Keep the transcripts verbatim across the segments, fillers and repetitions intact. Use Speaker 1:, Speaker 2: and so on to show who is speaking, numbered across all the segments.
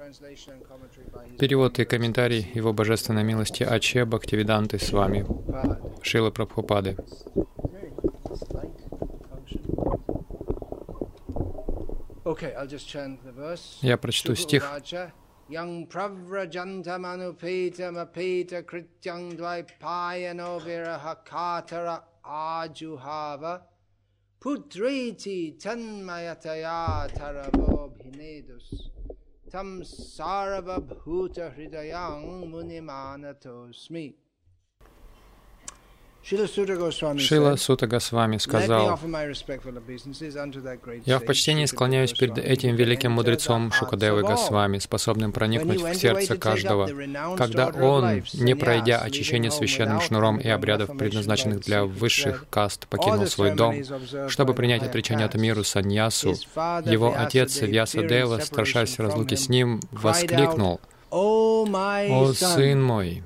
Speaker 1: Перевод и комментарий Его Божественной милости Аче Бхактивиданты с вами, Шрилы Прабхупады. Я прочту стих.
Speaker 2: Yang pravrajantam anupetam apeta krityang dvaipayano viraha katara ajuhava putriti tanmayataya taravo bhinedus tam sarava bhuta hridayang munimanatosmi.
Speaker 1: Шрила Сута Госвами сказал: «Я в почтении склоняюсь перед этим великим мудрецом Шукадевой Госвами, способным проникнуть в сердце каждого, когда он, не пройдя очищение священным шнуром и обрядов, предназначенных для высших каст, покинул свой дом, чтобы принять отречение от миру саньясу, его отец Вьясадева, страшась разлуки с ним, воскликнул: «О, сын мой!»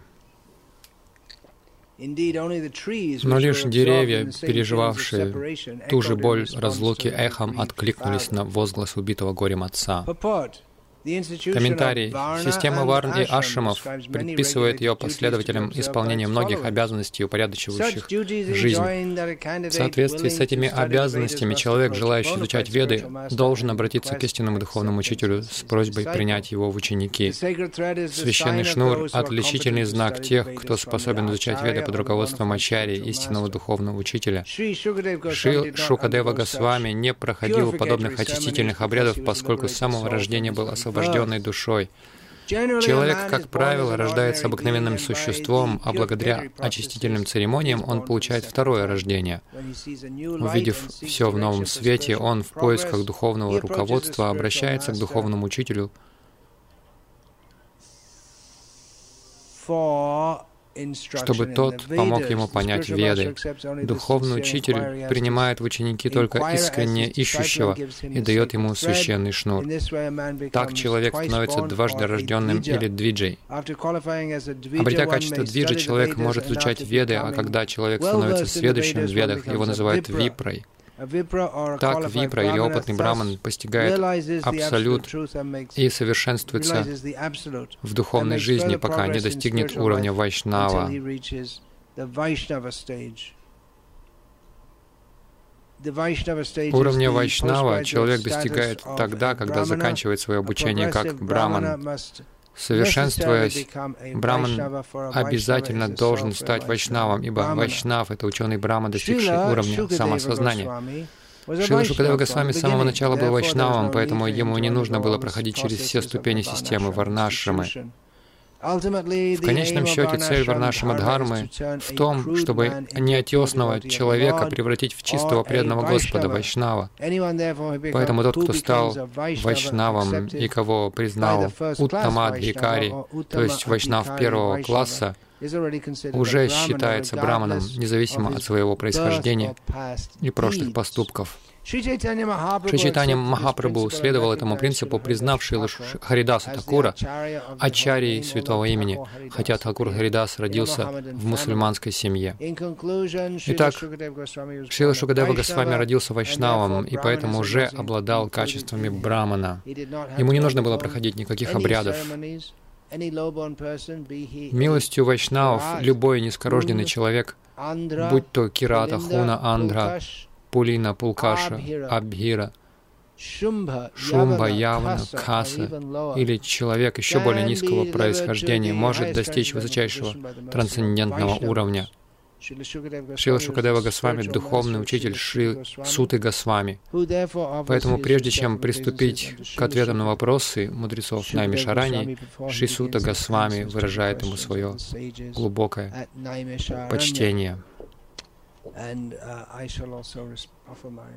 Speaker 1: Но лишь деревья, переживавшие ту же боль разлуки, эхом откликнулись на возглас убитого горем отца. Комментарий. Система варн и ашрамов предписывает ее последователям исполнение многих обязанностей, упорядочивающих жизнь. В соответствии с этими обязанностями человек, желающий изучать Веды, должен обратиться к истинному духовному учителю с просьбой принять его в ученики. Священный шнур — отличительный знак тех, кто способен изучать Веды под руководством ачарьи, истинного духовного учителя. Шри Шукадева Госвами не проходил подобных очистительных обрядов, поскольку с самого рождения был освобожден освобожденной душой. Человек, как правило, рождается обыкновенным существом, а благодаря очистительным церемониям он получает второе рождение. Увидев все в новом свете, он в поисках духовного руководства обращается к духовному учителю, чтобы тот помог ему понять Веды. Духовный учитель принимает в ученики только искренне ищущего и дает ему священный шнур. Так человек становится дважды рожденным или двиджей. Обретя качество двиджи, человек может изучать Веды, а когда человек становится сведущим в Ведах, его называют випрой. Так випра или опытный браман постигает абсолют и совершенствуется в духовной жизни, пока не достигнет уровня вайшнава. Уровня вайшнава человек достигает тогда, когда заканчивает свое обучение как браман. Совершенствуясь, браман обязательно должен стать вайшнавом, ибо вайшнав — это ученый брахман, достигший уровня самосознания. Шрила Шукадева Госвами с самого начала был вайшнавом, поэтому ему не нужно было проходить через все ступени системы варнашрамы. В конечном счете, цель варнашрама-дхармы в том, чтобы неотесного человека превратить в чистого преданного Господа, вайшнава. Поэтому тот, кто стал вайшнавом и кого признал уттамадхикари, то есть вайшнав первого класса, уже считается браманом, независимо от своего происхождения и прошлых поступков. Шри Чайтанья Махапрабху следовал этому принципу, признав Шрилу Харидаса Такура ачарьей святого имени, хотя Такур Харидас родился в мусульманской семье. Итак, Шрила Шукадева Госвами родился вайшнавом и поэтому уже обладал качествами брамана. Ему не нужно было проходить никаких обрядов. Милостью вайшнавов любой низкорожденный человек, будь то Кирата, Хуна, Андра, Пулина, Пулкаша, Абхира, Шумба, Явана, Каса или человек еще более низкого происхождения может достичь высочайшего трансцендентного уровня. Шрила Шукадева Госвами — духовный учитель Шри Суты Госвами. Поэтому прежде чем приступить к ответам на вопросы мудрецов Наймишарани, Шри Сута Госвами выражает ему свое глубокое почтение.
Speaker 2: And uh, I shall also offer my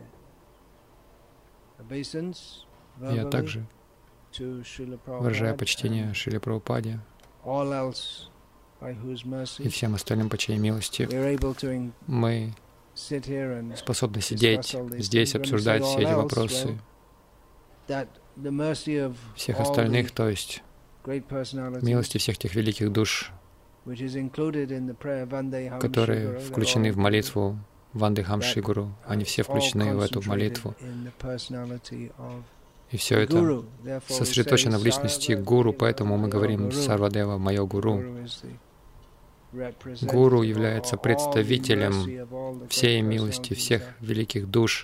Speaker 2: obeisance
Speaker 1: Я также выражаю почтение Шриле Прабхупаде и всем остальным по чьей милости мы способны сидеть здесь, обсуждать все эти вопросы. Всех остальных, то есть милости всех тех великих душ, которые включены в молитву Вандехам Шри Гуру. Они все включены в эту молитву. И все это сосредоточено в личности гуру, поэтому мы говорим «Сарвадева, мое гуру». Гуру является представителем всей милости, всех великих душ.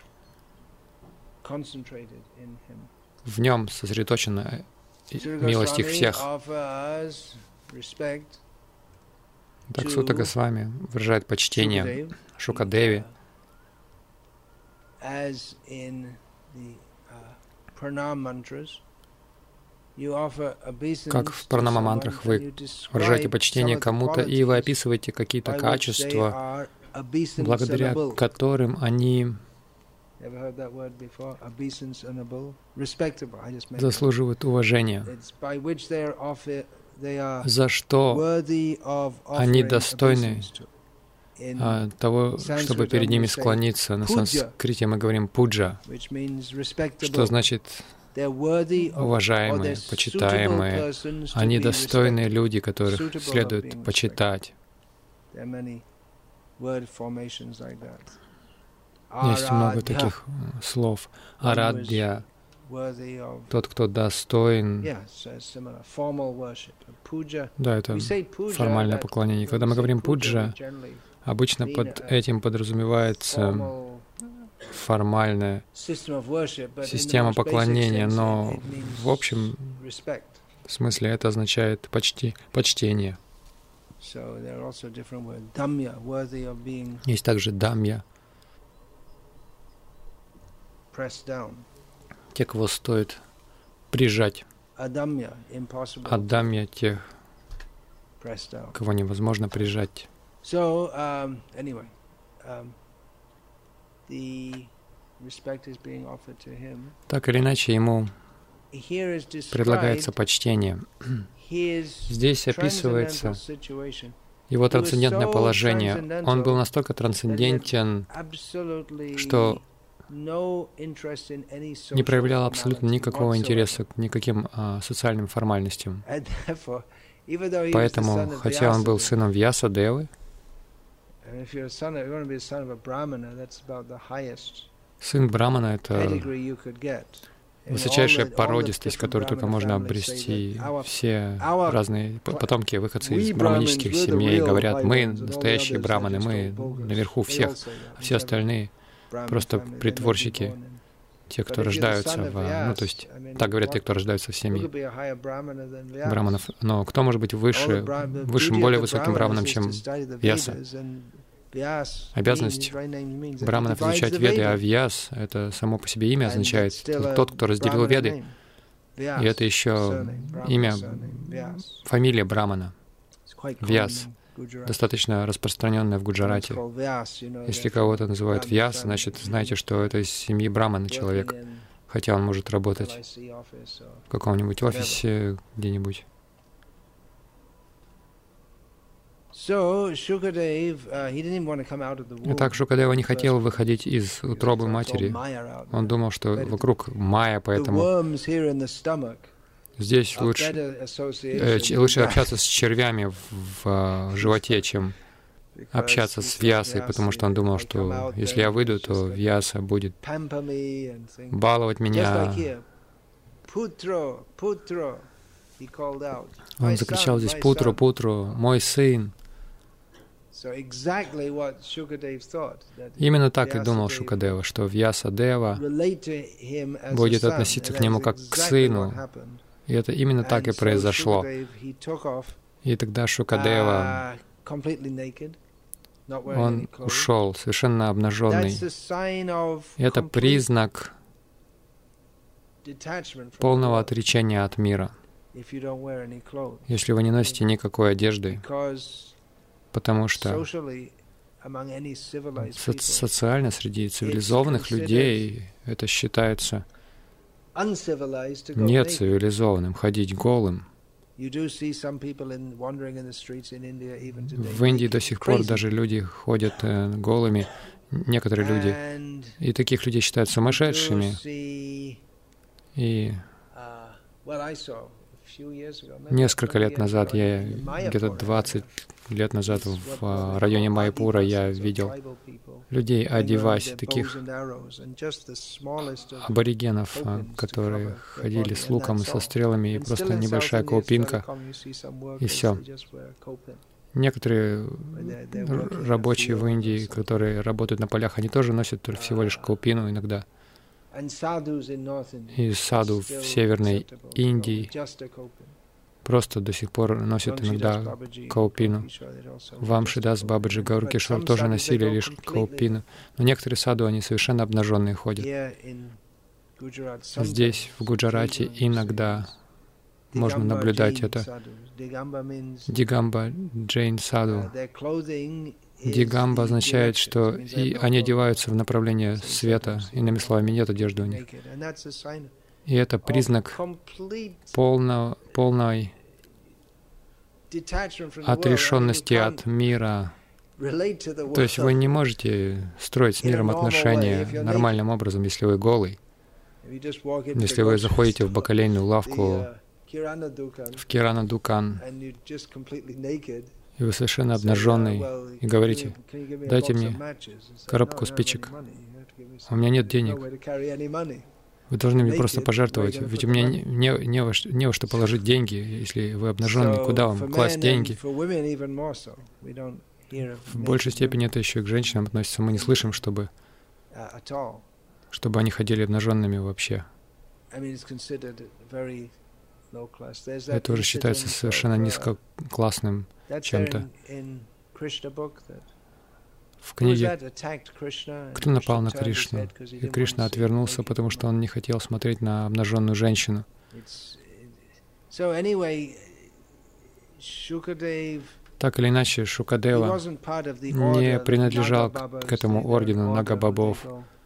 Speaker 1: В нем сосредоточена милость их всех. Так Сута Госвами выражает почтение Шукадеви, как в пранама-мантрах вы выражаете почтение кому-то, и вы описываете какие-то качества, благодаря которым они заслуживают уважения, за что они достойны а, того, чтобы перед ними склониться. На санскрите мы говорим «пуджа», что значит уважаемые, почитаемые. Они достойные люди, которых следует почитать. Есть много таких слов. Арадья, тот, кто достоин. Да, это формальное поклонение. Когда мы говорим пуджа, обычно под этим подразумевается формальная система поклонения, но в общем смысле это означает почти почтение. Есть также дамья, те, кого стоит прижать, адамья, тех, кого невозможно прижать.
Speaker 2: So, um, anyway, um, the respect is being offered to him.
Speaker 1: Так или иначе, ему предлагается почтение. Здесь описывается его трансцендентное положение. Он был настолько трансцендентен, что не проявлял абсолютно никакого интереса к никаким а, социальным формальностям. Поэтому, хотя он был сыном Вьясадевы, сын Брамана — это высочайшая породистость, которую только можно обрести. Все разные потомки, выходцы из браманических семей говорят: мы настоящие браманы, мы наверху всех, а все остальные просто притворщики, те, кто рождаются в... Ну, то есть, так говорят те, кто рождаются в семье браманов. Но кто может быть выше, высшим, более высоким браманом, чем Вьяса? Обязанность браманов изучать Веды, а Вьяс — это само по себе имя означает тот, кто разделил Веды. И это еще имя, фамилия брамана. Вьяс. Достаточно распространенная в Гуджарате. Если кого-то называют Вьяс, значит, знаете, что это из семьи брамана человек, хотя он может работать в каком-нибудь офисе где-нибудь. Итак, Шукадева не хотел выходить из утробы матери. Он думал, что вокруг майя, поэтому здесь лучше, э, лучше общаться с червями в, в животе, чем общаться с Вьясой, потому что он думал, что если я выйду, то Вьяса будет баловать меня. Он закричал здесь: «Путру, Путру, мой сын». Именно так и думал Шукадева, что Вьясадева будет относиться к нему как к сыну. И это именно так и произошло. И тогда Шукадева, он ушел совершенно обнаженный. И это признак полного отречения от мира, если вы не носите никакой одежды, потому что со- социально среди цивилизованных людей это считается нецивилизованным ходить голым. В Индии до сих пор даже люди ходят э, голыми, некоторые люди, и таких людей считают сумасшедшими. И Несколько лет назад, я где-то двадцать лет назад в районе Майяпура я видел людей Адиваси, таких аборигенов, которые ходили с луком и со стрелами, и просто небольшая каупинка, и все. Некоторые рабочие в Индии, которые работают на полях, они тоже носят всего лишь каупину иногда. И саду в Северной Индии просто до сих пор носят иногда каупину. Вамшидас Бабаджи, Гауркишвар тоже носили лишь каупину. Но некоторые саду, они совершенно обнаженные ходят. Здесь, в Гуджарате, иногда можно наблюдать это. Дигамба Джейн Саду. Дигамба означает, что и они одеваются в направление света, иными словами, нет одежды у них. И это признак полно, полной отрешенности от мира. То есть вы не можете строить с миром отношения нормальным образом, если вы голый. Если вы заходите в бакалейную лавку, в Кирана Дукан, и вы совершенно обнаженный, и говорите: дайте мне коробку спичек, у меня нет денег. Вы должны мне просто пожертвовать, ведь у меня не, не, не, во, не во что положить деньги, если вы обнаженный, куда вам класть деньги? В большей степени это еще и к женщинам относится. Мы не слышим, чтобы, чтобы они ходили обнаженными вообще. Это уже считается совершенно низкоклассным чем-то. В книге «Кто напал на Кришну?» И Кришна отвернулся, потому что он не хотел смотреть на обнаженную женщину. Так или иначе, Шукадева не принадлежал к этому ордену Нагабабов.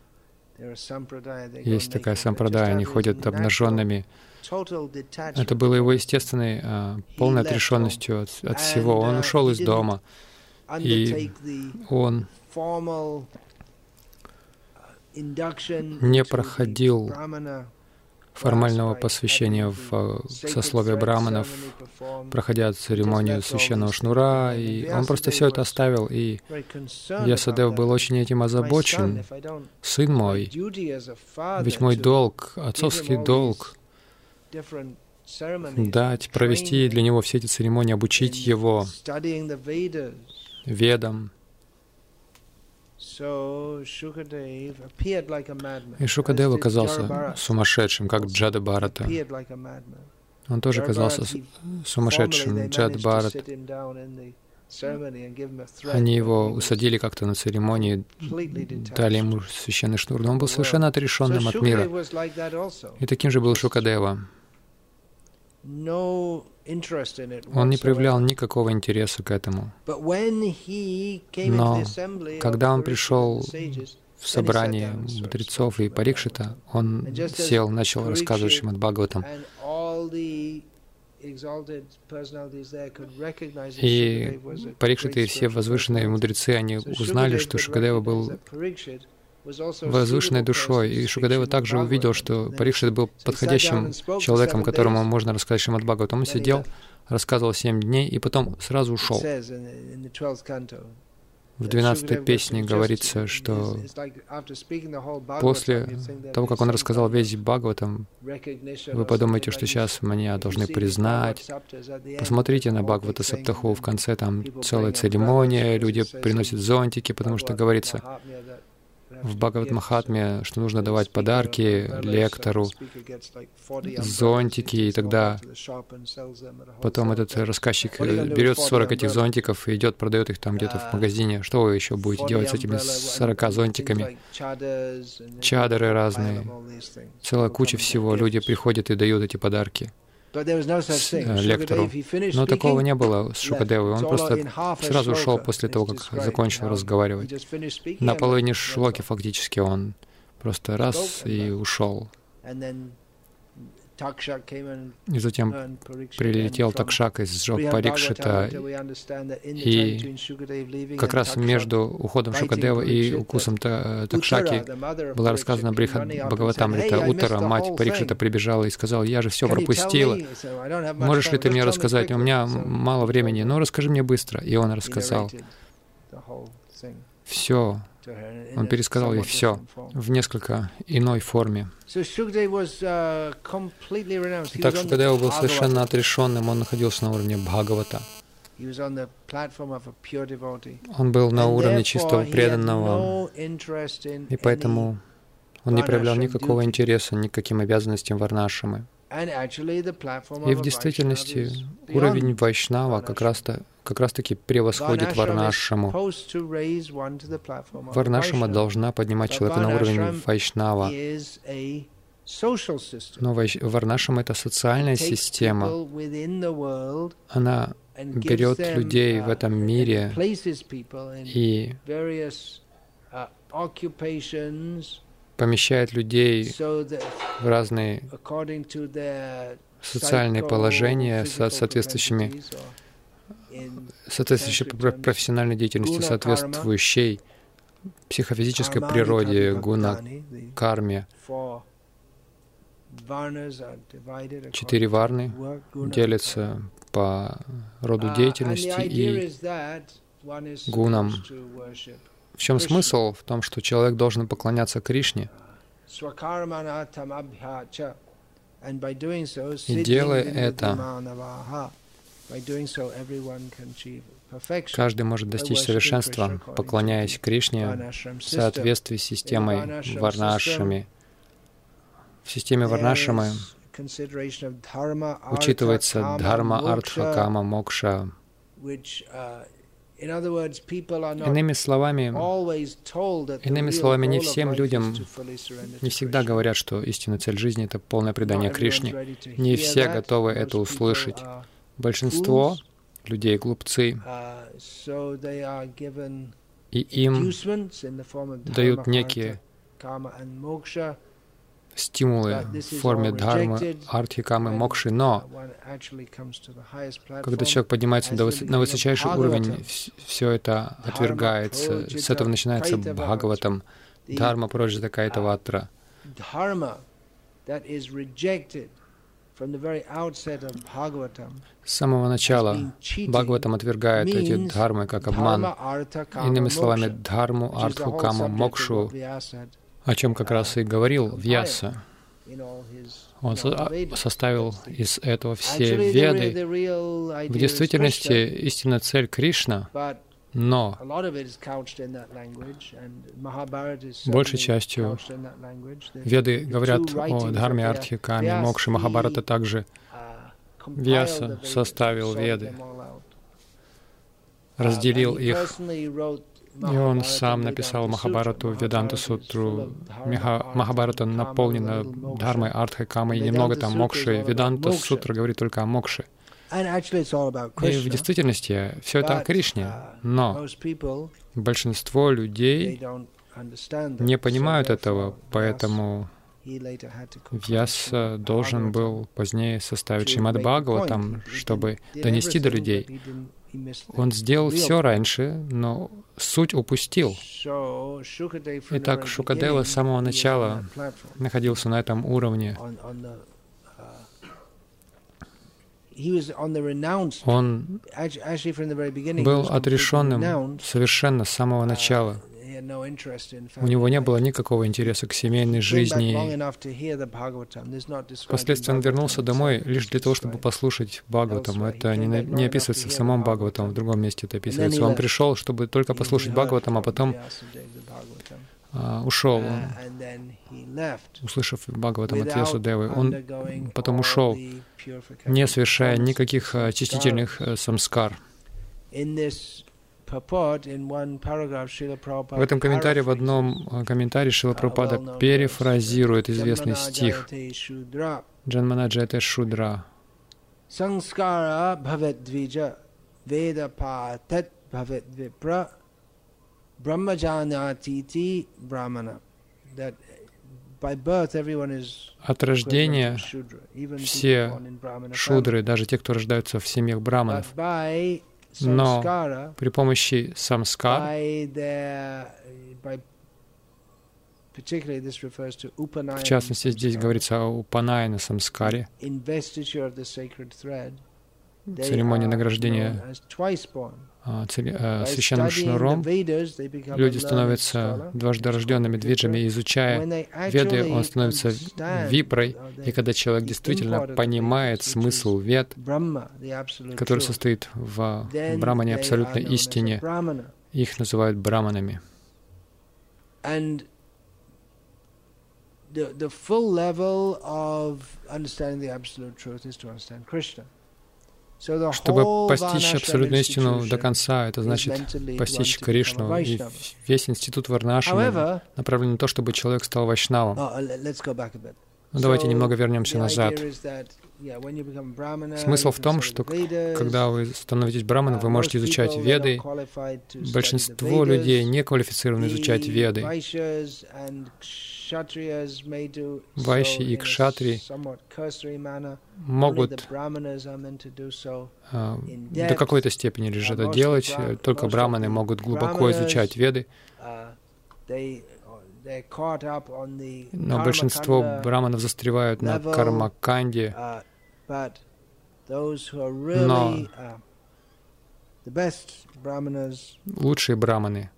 Speaker 1: Есть такая сампрадая, они ходят обнаженными. Это было его естественной, полной отрешенностью от, от всего. Он ушел из дома, и он не проходил формального посвящения в сословие браманов, проходя церемонию священного шнура, и он просто все это оставил, и Вьясадев был очень этим озабочен. «Сын мой, ведь мой долг, отцовский долг, дать, провести для него все эти церемонии, обучить его ведам». И Шукадев оказался сумасшедшим, как Джада Бхарата. Он тоже оказался сумасшедшим, Джада Бхарат. Они его усадили как-то на церемонии, дали ему священный шнур, но он был совершенно отрешенным от мира. И таким же был Шукадева. Он не проявлял никакого интереса к этому. Но когда он пришел в собрание мудрецов и Парикшита, он сел, начал рассказывать Шримад Бхагаватам. И Парикшиты и все возвышенные мудрецы, они узнали, что Шукадева был возвышенной душой. И Шукадева также увидел, что Парикшит был подходящим человеком, которому можно рассказать Шримад Бхагаватам. Он сидел, рассказывал семь дней, и потом сразу ушел. В двенадцатой песне говорится, что после того, как он рассказал весь Бхагаватам, вы подумаете, что сейчас меня должны признать. Посмотрите на Бхагавата Саптаху, в конце там целая церемония, люди приносят зонтики, потому что говорится в Бхагават Махатме, что нужно давать подарки лектору, зонтики, и тогда потом этот рассказчик берет сорок этих зонтиков и идет, продает их там где-то в магазине. Что вы еще будете делать с этими сорока зонтиками? Чадры разные, целая куча всего. Люди приходят и дают эти подарки лектору. Но такого не было с Шукадевой. Он просто сразу ушел после того, как закончил разговаривать. На половине шлоки фактически он просто раз и ушел. И затем прилетел Такшак и сжег Парикшита. И как раз между уходом Шукадева и укусом Такшаки была рассказана Брихад Бхагаватамрита. Уттара, мать Парикшита, прибежала и сказала: «Я же все пропустила. Можешь ли ты мне рассказать? У меня мало времени, но расскажи мне быстро». И он рассказал все. Он пересказал ей все в несколько иной форме. Итак, Шукадева был совершенно отрешенным, он находился на уровне Бхагавата. Он был на уровне чистого преданного, и поэтому он не проявлял никакого интереса ни к каким обязанностям варнашамы. И в действительности уровень Вайшнава как раз-то как раз-таки превосходит Варнашаму. Варнашама должна поднимать человека на уровень Вайшнава. Но вайш... Варнашама — это социальная система. Она берет людей в этом мире и помещает людей в разные социальные положения со соответствующими соответствующей профессиональной деятельности, соответствующей психофизической природе, гуна, карме. Четыре варны делятся по роду деятельности и гунам. В чем смысл? В том, что человек должен поклоняться Кришне. И делая это, каждый может достичь совершенства, поклоняясь Кришне в соответствии с системой Варнашами. В системе Варнашамы учитывается дхарма, артха, кама, мокша. Иными словами, иными словами, не всем людям, не всегда говорят, что истинная цель жизни — это полное предание Кришне. Не все готовы это услышать. Большинство людей — глупцы, и им дают некие стимулы в форме дхармы, артхи, камы, мокши, но когда человек поднимается до выс- на высочайший уровень, все это отвергается. С этого начинается Бхагаватам. Дхарма прожита какая-то ватра. С самого начала Бхагаватам отвергает эти дхармы как обман. Иными словами, дхарму, артху, каму, мокшу, о чем как раз и говорил Вьяса. Он со- составил из этого все Веды. В действительности истинная цель Кришна, но большей частью Веды говорят о дхарме, артхе, каме, мокше. Махабхарата также. Вьяса составил Веды, разделил их. И он сам написал Махабхарату, Веданта Сутру. Махабхарата наполнена дхармой, артхой, камой, и немного там мокши. Веданта Сутра говорит только о мокше. И в действительности все это о Кришне, но большинство людей не понимают этого, поэтому Вьяса должен был позднее составить Шримад Бхагаватам, чтобы донести до людей. Он сделал все раньше, но суть упустил. Итак, Шукадева с самого начала находился на этом уровне. Он был отрешенным совершенно с самого начала. У него не было никакого интереса к семейной жизни. Впоследствии он вернулся домой лишь для того, чтобы послушать Бхагаватам. Это не, не описывается в самом Бхагаватам, в другом месте это описывается. Он пришел, чтобы только послушать Бхагаватам, а потом а, ушел. Он, услышав Бхагаватам от Вьясадевы, он потом ушел, не совершая никаких очистительных самскар. В этом комментарии, в одном комментарии Шрила Прабхупада перефразирует известный стих Джанманаджайте Шудра. Самскара бхавет двиджа веда патат бхавет випра брахмаджанятити брамана. That От рождения все шудры, даже те, кто рождаются в семьях браманов. Но при помощи самскар, в частности, здесь говорится о упанаяна самскаре, церемонии награждения священным шнуром, люди становятся дважды рожденными двиджами, изучая Веды, он становится випрой, и когда человек действительно понимает смысл Вед, который состоит в Брамане, абсолютной истине, их называют браманами. Чтобы постичь абсолютную истину до конца, это значит постичь Кришну. И весь институт Варнашрама направлен на то, чтобы человек стал вайшнавом. Ну, давайте немного вернемся назад. Смысл в том, что когда вы становитесь браманом, вы можете изучать Веды. Большинство людей не квалифицированы изучать Веды. Вайши и кшатри могут а, до какой-то степени лишь это делать, только браманы могут глубоко изучать Веды. Но большинство браманов застревают на кармаканде. Но лучшие браманы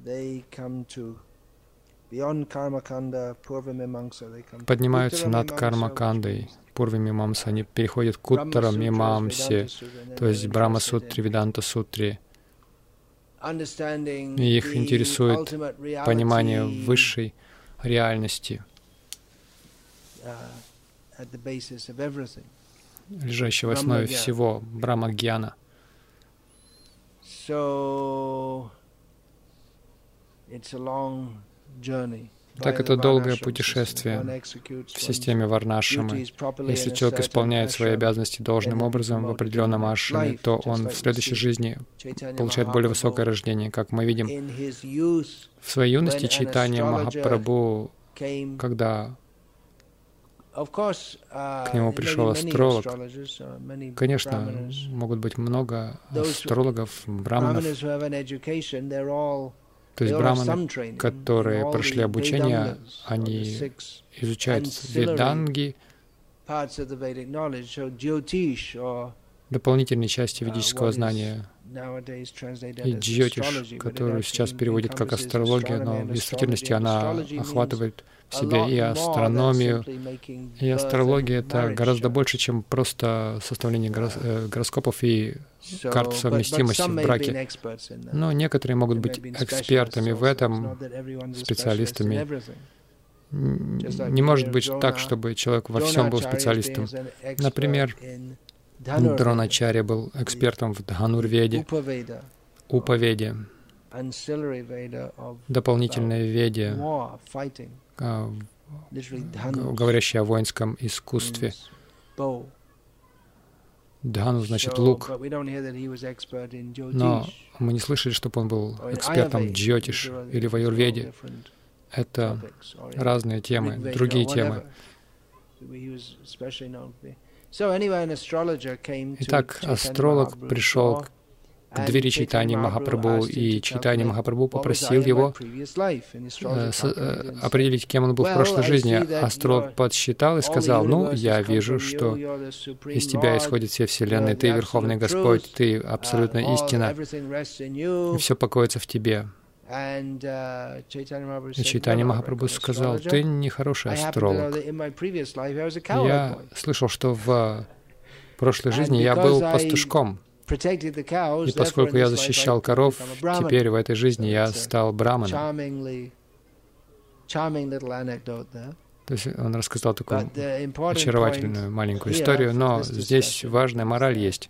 Speaker 1: поднимаются над кармакандой, пурва-мимамса, они переходят к уттара-мимамсе, то есть Брахма-сутре, Веданта-сутре. И их интересует понимание высшей реальности, лежащей в основе всего, Брахма-гьяна. Так это долгое путешествие в системе Варнашрамы. Если человек исполняет свои обязанности должным образом в определенном ашраме, то он в следующей жизни получает более высокое рождение. Как мы видим, в своей юности Чайтанья Махапрабху, когда к нему пришел астролог, конечно, могут быть много астрологов, браманов. То есть браманы, которые прошли обучение, они изучают веданги, дополнительные части ведического знания, и джьотиш, которую сейчас переводят как астрология, но в действительности она охватывает в себе и астрономию, и астрология — это гораздо больше, чем просто составление гороскопов и карт совместимости в браке. Но некоторые могут быть экспертами в этом, специалистами. Не может быть так, чтобы человек во всем был специалистом. Например, Дроначарья был экспертом в Дханур-веде, Упа-веде, дополнительной веде, говорящей о воинском искусстве. Дхану значит лук. Но мы не слышали, чтобы он был экспертом в джьотиш или в аюрведе. Это разные темы, другие темы. Итак, астролог пришел к двери Чайтаньи Махапрабху, и Чайтанья Махапрабху попросил его э, с, э, определить, кем он был в прошлой жизни. Астролог подсчитал и сказал: «Ну, я вижу, что из тебя исходит вся Вселенная, ты Верховный Господь, ты абсолютная истина, и все покоится в тебе». И Чайтанья Махапрабху сказал: «Ты нехороший астролог. Я слышал, что в прошлой жизни я был пастушком. И поскольку я защищал коров, теперь в этой жизни я стал браманом». То есть он рассказал такую очаровательную маленькую историю, но здесь важная мораль есть.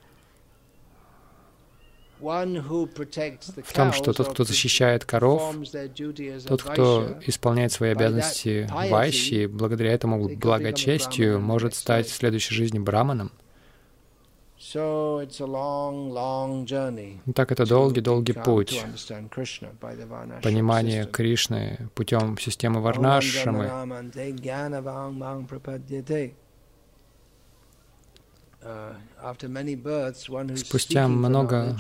Speaker 1: В том, что тот, кто защищает коров, тот, кто исполняет свои обязанности вайши, благодаря этому благочестию может стать в следующей жизни браманом. Так это долгий-долгий путь понимания Кришны путем системы Варнашрамы. Спустя много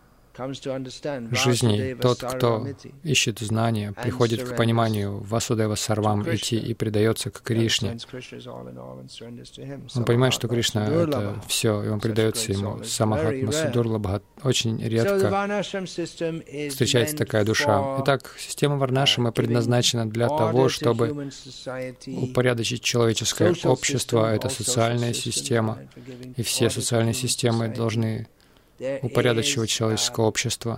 Speaker 1: жизней тот, кто ищет знания, приходит к пониманию Васудева Сарвам Ити и предается к Кришне. Он понимает, что Кришна — это все, и он предается ему. Самахатма Судурлабха. Очень редко встречается такая душа. Итак, система Варнашрамы предназначена для того, чтобы упорядочить человеческое общество. Это социальная система, и все социальные системы должны упорядочивать человеческое общество.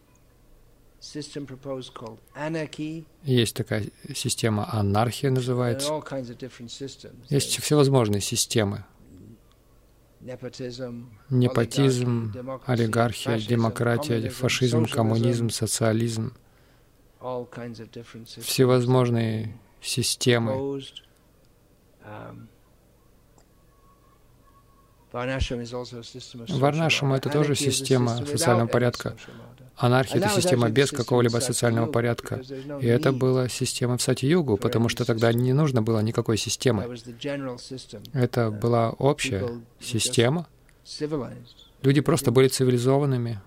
Speaker 1: Есть такая система анархия, называется. Есть всевозможные системы. Непотизм, олигархия, демократия, фашизм, коммунизм, социализм. Всевозможные системы. Варнашрама — это тоже система социального порядка. Анархия — это система без какого-либо социального порядка. И это была система в Сати-югу, потому что тогда не нужно было никакой системы. Это была общая система. Люди просто были цивилизованными.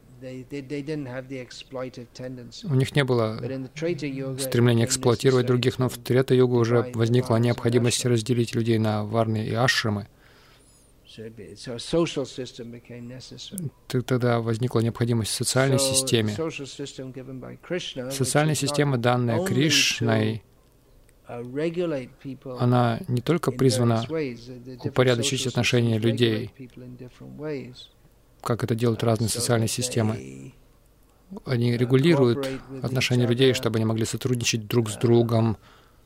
Speaker 1: У них не было стремления эксплуатировать других, но в Трета-югу уже возникла необходимость разделить людей на варны и ашрамы. Тогда возникла необходимость в социальной системе. Социальная система, данная Кришной, она не только призвана упорядочить отношения людей, как это делают разные социальные системы. Они регулируют отношения людей, чтобы они могли сотрудничать друг с другом,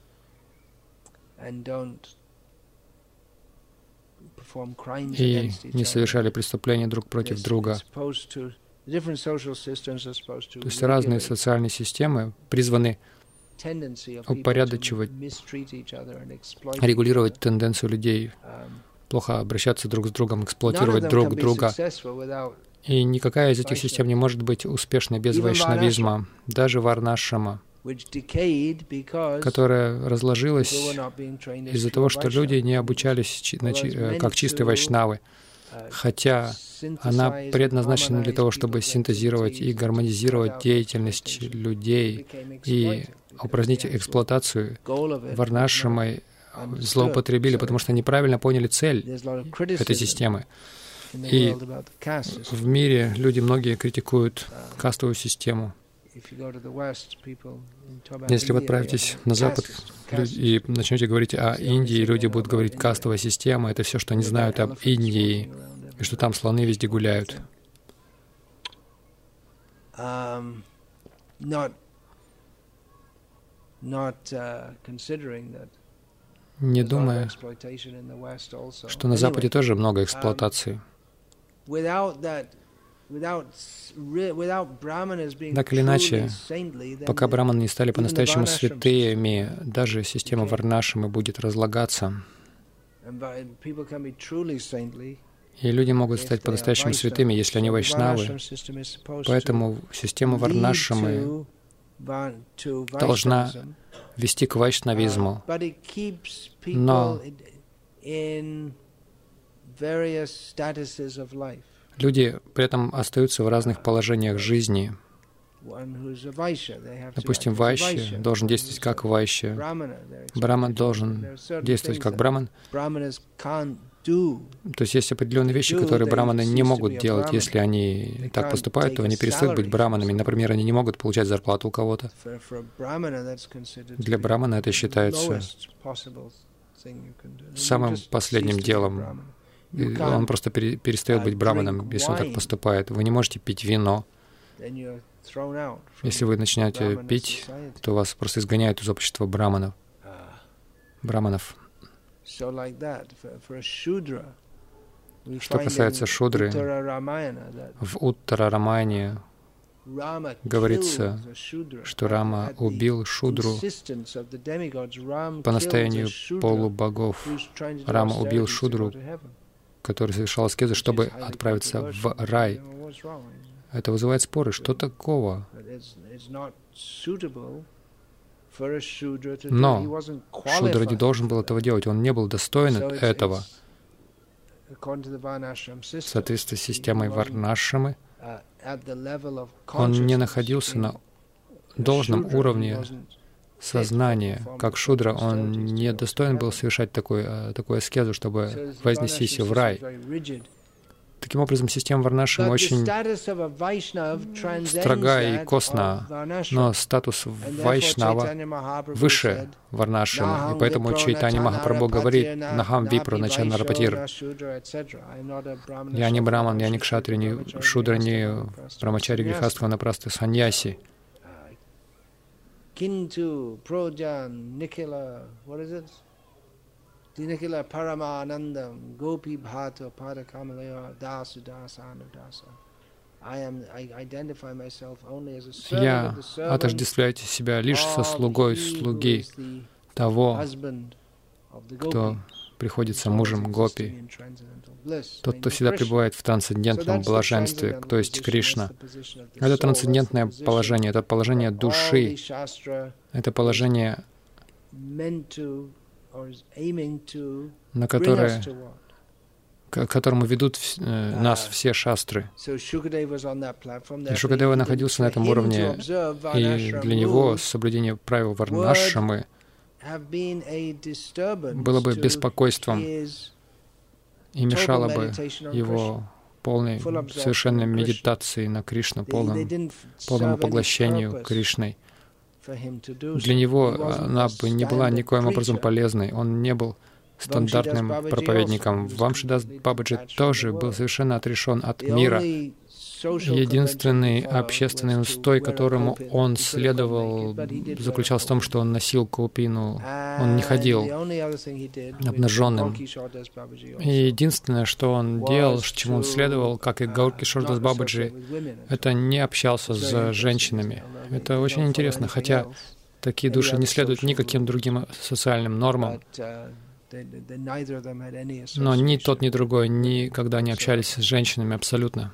Speaker 1: и не совершали преступления друг против друга. То есть разные социальные системы призваны упорядочивать, регулировать тенденцию людей, плохо обращаться друг с другом, эксплуатировать друг друга. И никакая из этих систем не может быть успешной без вайшнавизма, даже варнашрама, которая разложилась из-за того, что люди не обучались как чистые вайшнавы, хотя она предназначена для того, чтобы синтезировать и гармонизировать деятельность людей и упразднить эксплуатацию. Варнашрамой злоупотребили, потому что неправильно поняли цель этой системы. И в мире люди многие критикуют кастовую систему. Если вы отправитесь на Запад и начнете говорить о Индии, люди будут говорить «кастовая система» — это все, что они знают об Индии, и что там слоны везде гуляют. Не думая, что на Западе тоже много эксплуатации. Так или иначе, пока браманы не стали по-настоящему святыми, даже система Варнашрамы будет разлагаться. И люди могут стать по-настоящему святыми, если они вайшнавы. Поэтому система Варнашрамы должна вести к вайшнавизму. Но люди при этом остаются в разных положениях жизни. Допустим, вайшья должен действовать как вайшья. Браман должен действовать как браман. То есть есть определенные вещи, которые браманы не могут делать. Если они так поступают, то они перестают быть браманами. Например, они не могут получать зарплату у кого-то. Для брамана это считается самым последним делом. И он просто перестает быть браманом, если он так поступает. Вы не можете пить вино. Если вы начинаете пить, то вас просто изгоняют из общества браманов. Браманов. Что касается шудры, в Уттара-рамаяне говорится, что Рама убил шудру по настоянию полубогов. Рама убил шудру, который совершал аскезы, чтобы отправиться в рай. Это вызывает споры. Что такого? Но шудра не должен был этого делать. Он не был достоин этого. В соответствии с системой варнашрамы, он не находился на должном уровне сознания. Как шудра, он не достоин был совершать такую, такую аскезу, чтобы вознестись в рай. Таким образом, система варнашрамы очень строга и косна, но статус вайшнава выше варнашрамы, и поэтому Чайтанья Махапрабху говорит: «Нахам випра начана рапатир». Я не браман, я не кшатри, не шудра, не брамачари, грихаства, напрасты, саньяси.
Speaker 2: Kintu, Projan, Nikila, what is it? Nikila Paramanandam, Gopi Bhata, Pada Kamalaya, Dasu Dasa, Anudasa. I am, I identify myself only as a servant of the servant.
Speaker 1: Я отождествляю себя лишь со слугой слуги того, кто приходится мужем Гопи, тот, кто всегда пребывает в трансцендентном блаженстве, то есть Кришна. Это трансцендентное положение, это положение души, это положение, на которое, к которому ведут э, нас все шастры. И Шукадева находился на этом уровне, и для него соблюдение правил варнашрамы было бы беспокойством и мешало бы его полной, совершенной медитации на Кришну, полному, полному поглощению Кришной. Для него она бы не была никоим образом полезной. Он не был стандартным проповедником. Вамшидас Бабаджи тоже был совершенно отрешен от мира. Единственный общественный устой, которому он следовал, заключался в том, что он носил каупину, он не ходил обнаженным. И единственное, что он делал, чему он следовал, как и Гаур Кишор Дас Бабаджи, это не общался с женщинами. Это очень интересно, хотя такие души не следуют никаким другим социальным нормам. Но ни тот, ни другой никогда не общались с женщинами абсолютно.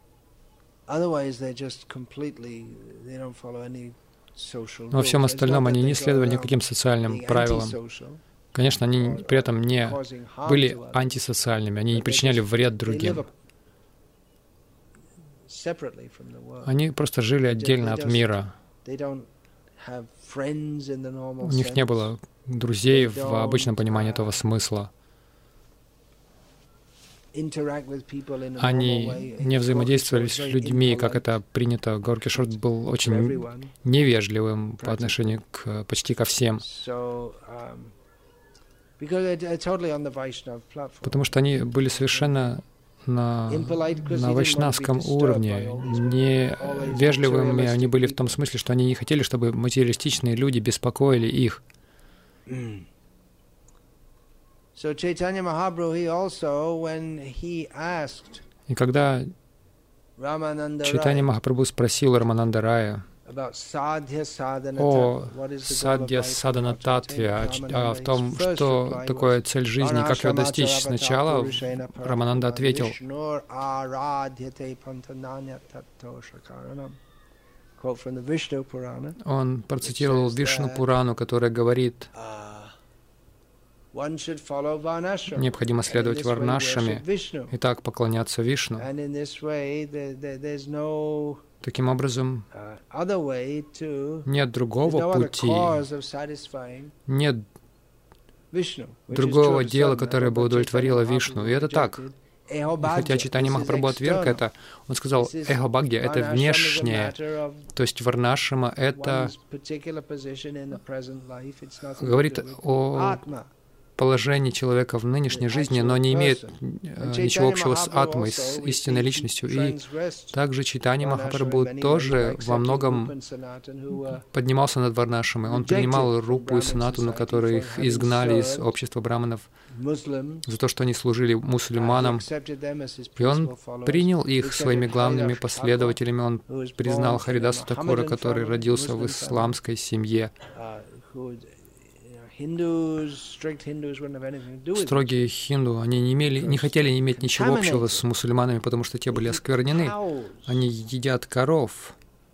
Speaker 1: Во всем остальном они не следовали никаким социальным правилам. Конечно, они при этом не были антисоциальными, они не причиняли вред другим. Они просто жили отдельно от мира. У них не было друзей в обычном понимании этого смысла. Они не взаимодействовали с людьми, как это принято. Гаур Кишор был очень невежливым по отношению к почти ко всем. Потому что они были совершенно на, на вайшнавском уровне. Невежливыми они были в том смысле, что они не хотели, чтобы материалистичные люди беспокоили их.
Speaker 2: So Chaitanya Mahaprabhu, he also, when he asked
Speaker 1: И когда Чайтанья Махапрабху спросил Рамананда Рая о садья садана татве, о том, что такое цель жизни, как ее достичь, сначала Рамананда ответил: он процитировал Вишну Пурану, которая говорит: необходимо следовать варнашраме и так поклоняться Вишну. Таким образом, нет другого пути, нет другого дела, которое бы удовлетворило Вишну. И это так. И хотя Чайтанья Махапрабху отверг это, он сказал: эхо бхагья — это внешнее, то есть варнашрама — это говорит о положении человека в нынешней жизни, но не имеет э, ничего общего с атмой, с истинной личностью. И также Чайтанья Махапрабху тоже во многом поднимался над варнашрамой. Он принимал Рупу и Санатану, которые их изгнали из общества браманов за то, что они служили мусульманам. И он принял их своими главными последователями. Он признал Харидаса Такура, который родился в исламской семье. Строгие хинду, они не, имели, не хотели иметь ничего общего с мусульманами, потому что те были осквернены. Они едят коров.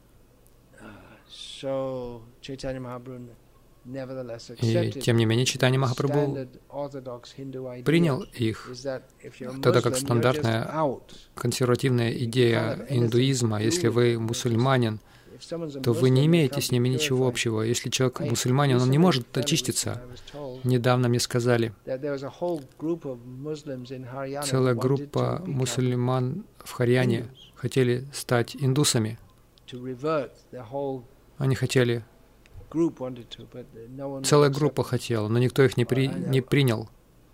Speaker 1: И тем не менее Чайтанья Махапрабху принял их, тогда как стандартная консервативная идея индуизма, если вы мусульманин, то вы не имеете с ними ничего общего. Если человек мусульманин, он не может очиститься. Недавно мне сказали, целая группа мусульман в Харьяне хотели стать индусами. Они хотели, целая группа хотела, но никто их не, при, не принял.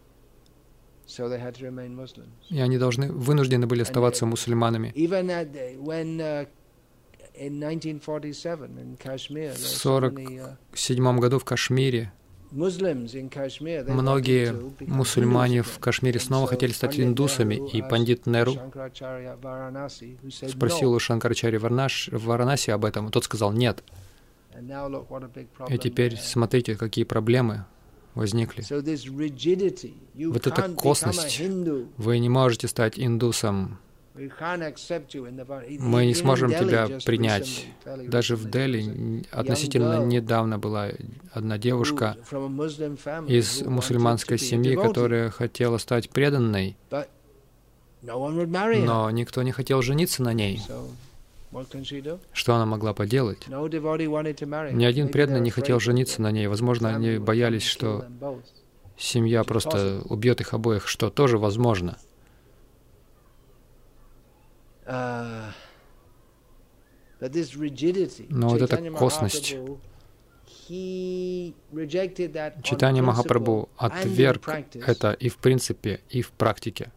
Speaker 1: И они должны, вынуждены были оставаться мусульманами. В сорок седьмом году в Кашмире многие мусульмане в Кашмире снова хотели стать индусами, и пандит Неру спросил у Шанкарачарьи в Варанаси об этом, и тот сказал «нет». И теперь смотрите, какие проблемы возникли. Вот эта косность. Вы не можете стать индусом. Мы не сможем тебя принять. Даже в Дели относительно недавно была одна девушка из мусульманской семьи, которая хотела стать преданной, но никто не хотел жениться на ней. Что она могла поделать? Ни один преданный не хотел жениться на ней. Возможно, они боялись, что семья просто убьет их обоих, что тоже возможно. Но вот эта косность, Чайтанья Махапрабху отверг это и в принципе, и в практике.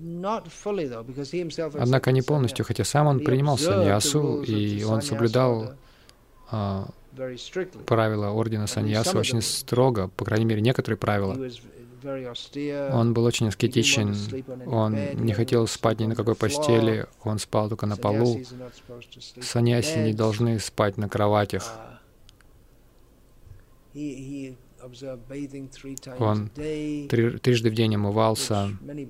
Speaker 1: Однако не полностью, хотя сам он принимал саньясу, и он соблюдал а, правила ордена саньясу очень строго, по крайней мере, некоторые правила. Он был очень аскетичен, он не хотел спать ни на какой постели, он спал только на полу. Саньяси не должны спать на кроватях. Он три, трижды в день омывался,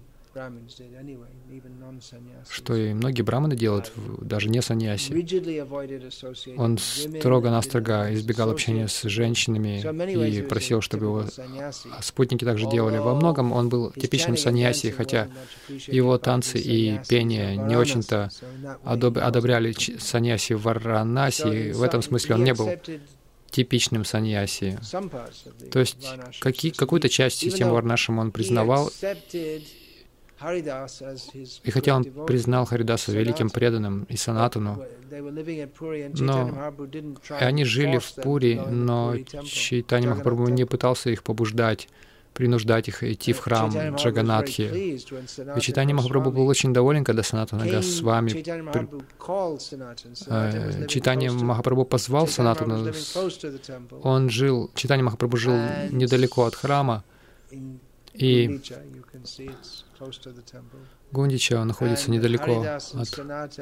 Speaker 1: что и многие браманы делают, даже не саньяси. Он строго-настрого избегал общения с женщинами и просил, чтобы его спутники также делали. Во многом он был типичным саньяси, хотя его танцы и пение не очень-то одобряли саньяси в Варанаси. В этом смысле он не был типичным саньяси. То есть какие, какую-то часть системы Варнашрама он признавал, и хотя он признал Харидаса великим преданным и Санатану, но и они жили в Пури, но Чайтанья Махапрабху не пытался их побуждать, принуждать их идти в храм Джаганатхи. И Чайтанья Махапрабху был очень доволен, когда Санатана Госвами, э, Чайтанья Махапрабху позвал Санатану. Он жил, Чайтанья Махапрабху жил недалеко от храма, и Гундича находится недалеко от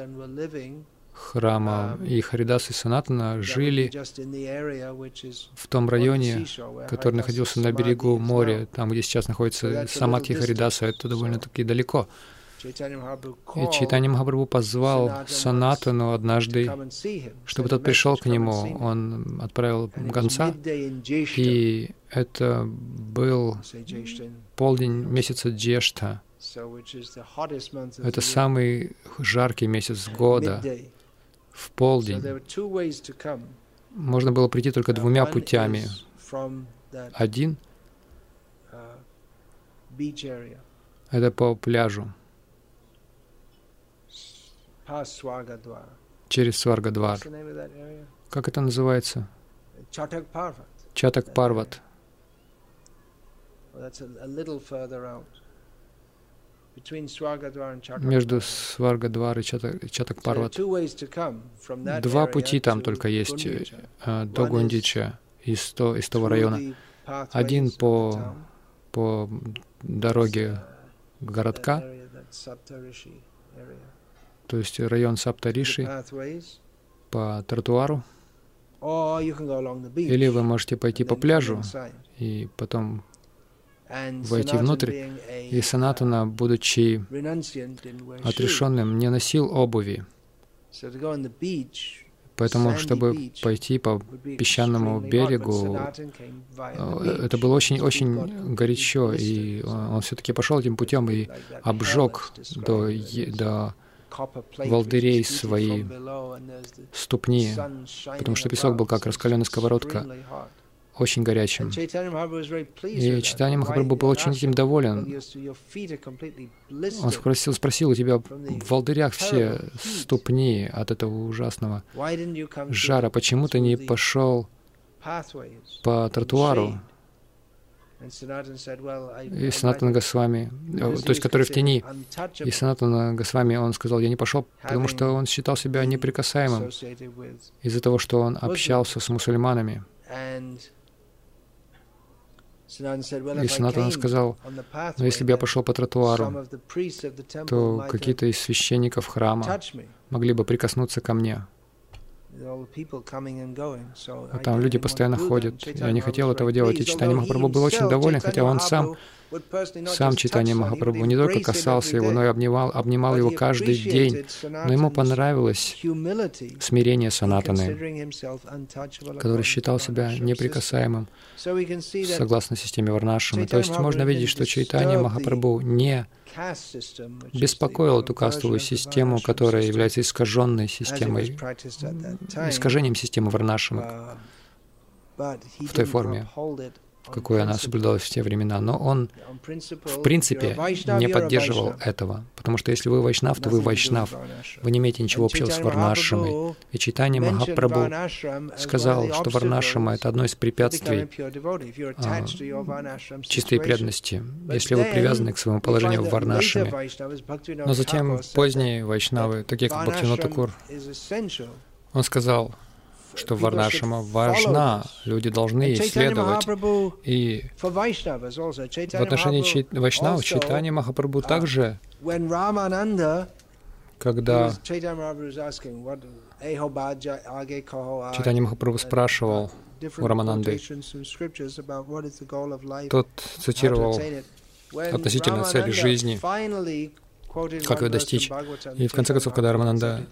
Speaker 1: храма, и Харидас и Санатана жили в том районе, который находился на берегу моря, там, где сейчас находится Самадхи Харидаса, это довольно-таки далеко. И Чайтанья Махапрабху позвал Санатану однажды, чтобы тот пришел к нему. Он отправил гонца, и это был полдень месяца Джештха. Это самый жаркий месяц года, в полдень. Можно было прийти только двумя путями. Один — это по пляжу, через Сваргадвар. Как это называется? Чатак-Парват. Между Сваргадвар и Чатак-Парват. Два пути там только есть до Гундича из, то, из того района. Один по, по дороге городка, то есть район Саптариши, по тротуару, Или вы можете пойти по пляжу и потом войти внутрь. И Санатана, будучи отрешенным, не носил обуви. Поэтому, чтобы пойти по песчаному берегу, это было очень-очень горячо, и он все-таки пошел этим путем и обжег до, до волдырей свои ступни, потому что песок был как раскаленная сковородка, очень горячим. И Чайтанья Махапрабху был очень этим доволен. Он спросил, спросил, у тебя в волдырях все ступни от этого ужасного жара. Почему ты не пошел по тротуару? И Санатана Госвами, то есть который в тени, и Санатана Госвами, он сказал, я не пошел, потому что он считал себя неприкасаемым из-за того, что он общался с мусульманами. И Санатана сказал, но если бы я пошел по тротуару, то какие-то из священников храма могли бы прикоснуться ко мне. А там люди постоянно ходят. Я не хотел этого делать. И Чайтанья Махапрабху был очень доволен, хотя он сам, сам Чайтанья Махапрабху не только касался его, но и обнимал, обнимал его каждый день. Но ему понравилось смирение Санатаны, который считал себя неприкасаемым, согласно системе Варнашрама. То есть можно видеть, что Чайтанья Махапрабху не беспокоил эту кастовую систему, которая является искаженной системой, искажением системы Варнашрама в той форме, в какой она соблюдалась в те времена. Но он, в принципе, не поддерживал этого, потому что если вы вайшнав, то вы вайшнав. Вы не имеете ничего общего с Варнашрамой. И Чайтанья Махапрабху сказал, что Варнашрама — это одно из препятствий а, чистой преданности, если вы привязаны к своему положению в Варнашраме. Но затем поздние вайшнавы, такие как Бхактивинод Такур, он сказал, что Варнашрама важна, люди должны ей следовать. И в отношении чай... вайшнавов Чайтанья Махапрабху также, когда Чайтанья Махапрабху спрашивал у Рамананды, тот цитировал относительно цели жизни, как ее достичь. И в конце концов, когда Рамананда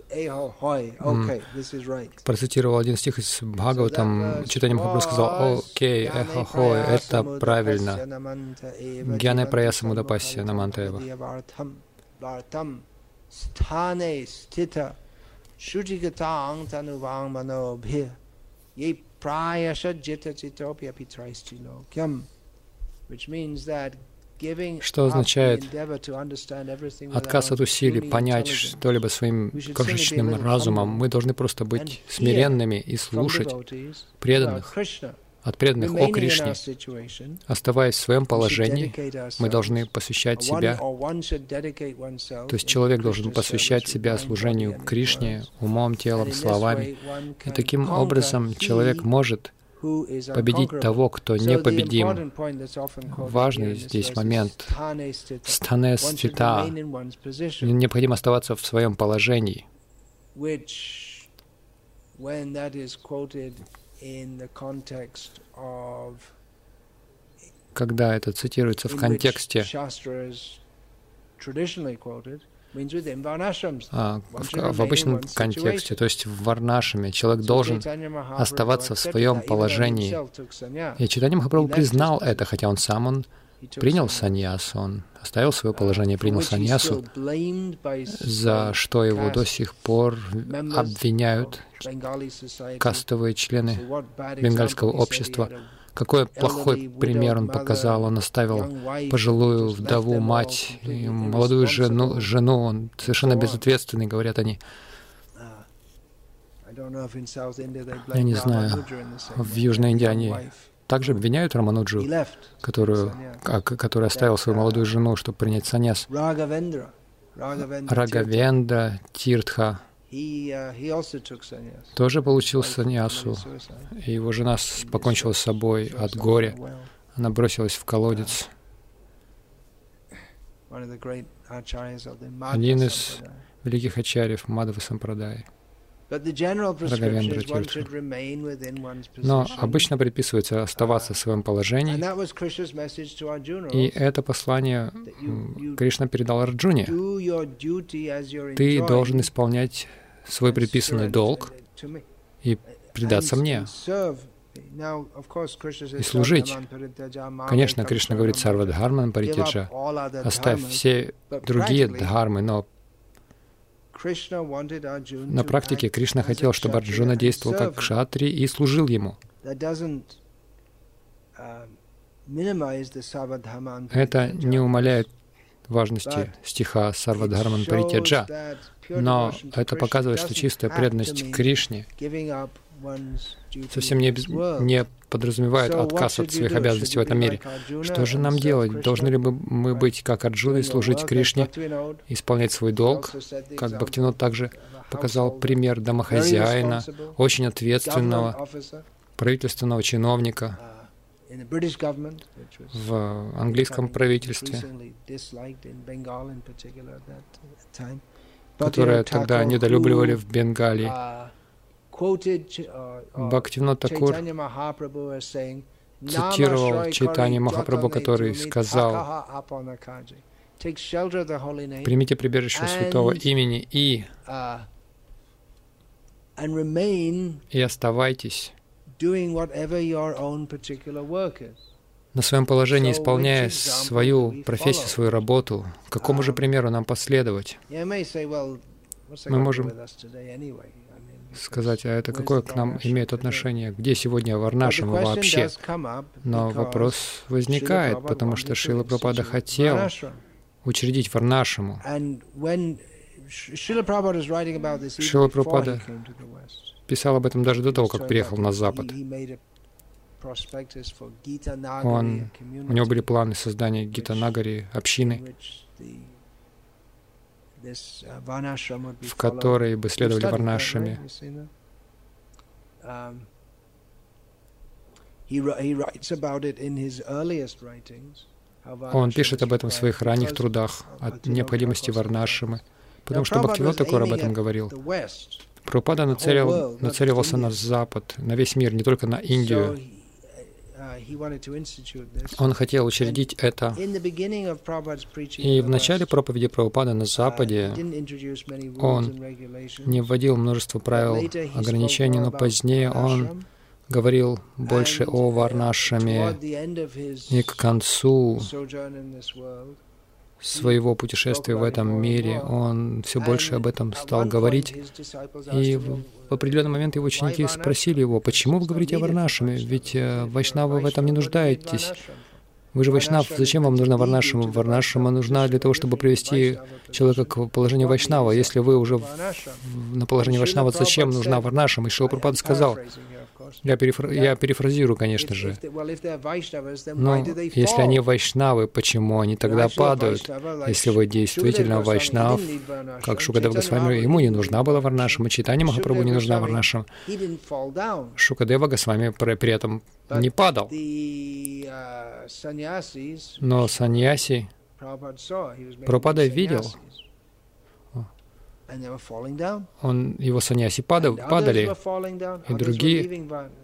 Speaker 1: процитировал один стих из Бхагаватам, Чайтанья Махапрабху сказал: «Окей, эхо-хой, это правильно. Гьяне праяса мудапасья намантаева». Что означает отказ от усилий понять что-либо своим крошечным разумом? Мы должны просто быть смиренными и слушать преданных, от преданных о Кришне. Оставаясь в своем положении, мы должны посвящать себя, то есть человек должен посвящать себя служению Кришне умом, телом, словами. И таким образом человек может победить того, кто непобедим. Важный здесь момент стане стита. Необходимо оставаться в своем положении. Когда это цитируется в контексте, А, в, в обычном контексте, то есть в Варнашраме, человек должен оставаться в своем положении. И Чайтанья Махапрабху признал это, хотя он сам он принял саньясу, он оставил свое положение, принял саньясу, за что его до сих пор обвиняют кастовые члены бенгальского общества. Какой плохой пример он показал. Он оставил пожилую вдову, мать, и молодую жену, жену. Он совершенно безответственный, говорят они. Я не знаю, в Южной Индии они также обвиняют Рамануджу, которую, который оставил свою молодую жену, чтобы принять саньяс. Рагавендра, Тиртха тоже получил саньясу, и его жена покончила с собой от горя. Она бросилась в колодец. Один из великих ачарьев Мадхва Сампрадай. Рагавендра Тиртха. Но обычно предписывается оставаться в своем положении, и это послание Кришна передал Арджуне. Ты должен исполнять свой предписанный долг и предаться мне, и служить. Конечно, Кришна говорит «Сарва дхарман паритяджа», оставь все другие дхармы, но на практике Кришна хотел, чтобы Арджуна действовал как кшатри и служил ему. Это не умаляет важности стиха «Сарва дхарман паритяджа», но это показывает, что чистая преданность Кришне совсем не, не подразумевает отказ от своих обязанностей в этом мире. Что же нам делать? Должны ли мы быть как Арджуна и служить Кришне, исполнять свой долг? Как Бхактивинод также показал пример домохозяина, очень ответственного правительственного чиновника в английском правительстве, которое тогда недолюбливали в Бенгалии. Бхактивинод Такур цитировал Чайтанья Махапрабху, который сказал: «Примите прибежище святого имени и, и оставайтесь на своем положении, исполняя свою профессию, свою работу». Какому же примеру нам последовать? Мы можем сказать, а это какое к нам имеет отношение? Где сегодня Варнашрама вообще? Но вопрос возникает, потому что Шрила Прабхупада хотел учредить Варнашраму. Шрила Прабхупада писал об этом даже до того, как приехал на Запад. Он, у него были планы создания Гита-Нагари, общины, в которой бы следовали Варнашраме. Он пишет об этом в своих ранних трудах, о необходимости Варнашрамы, потому что Бхактивинод Такур об этом говорил. Прабхупада нацелил, нацеливался на Запад, на весь мир, не только на Индию. Он хотел учредить это. И в начале проповеди Прабхупады на Западе он не вводил множество правил, ограничений, но позднее он говорил больше о Варнашраме, и к концу своего путешествия в этом мире он все больше об этом стал говорить. И в определенный момент его ученики спросили его: «Почему вы говорите о Варнашраме? Ведь вайшнавы в этом не нуждаетесь. Вы же вайшнав, зачем вам нужна Варнашрама? Варнашрама нужна для того, чтобы привести человека к положению вайшнава. Если вы уже в, на положении вайшнава, зачем нужна Варнашрама?» И Шрила Прабхупада сказал, я, перефра... я перефразирую, конечно же, но если они вайшнавы, почему они тогда падают? Если вы действительно вайшнав, как Шукадева Госвами, ему не нужна была Варнашрама, Чайтанья Махапрабху не нужна Варнашрама. Шукадева Госвами при этом не падал. Но саньяси Прабхупада видел, он, его саньяси падали, и другие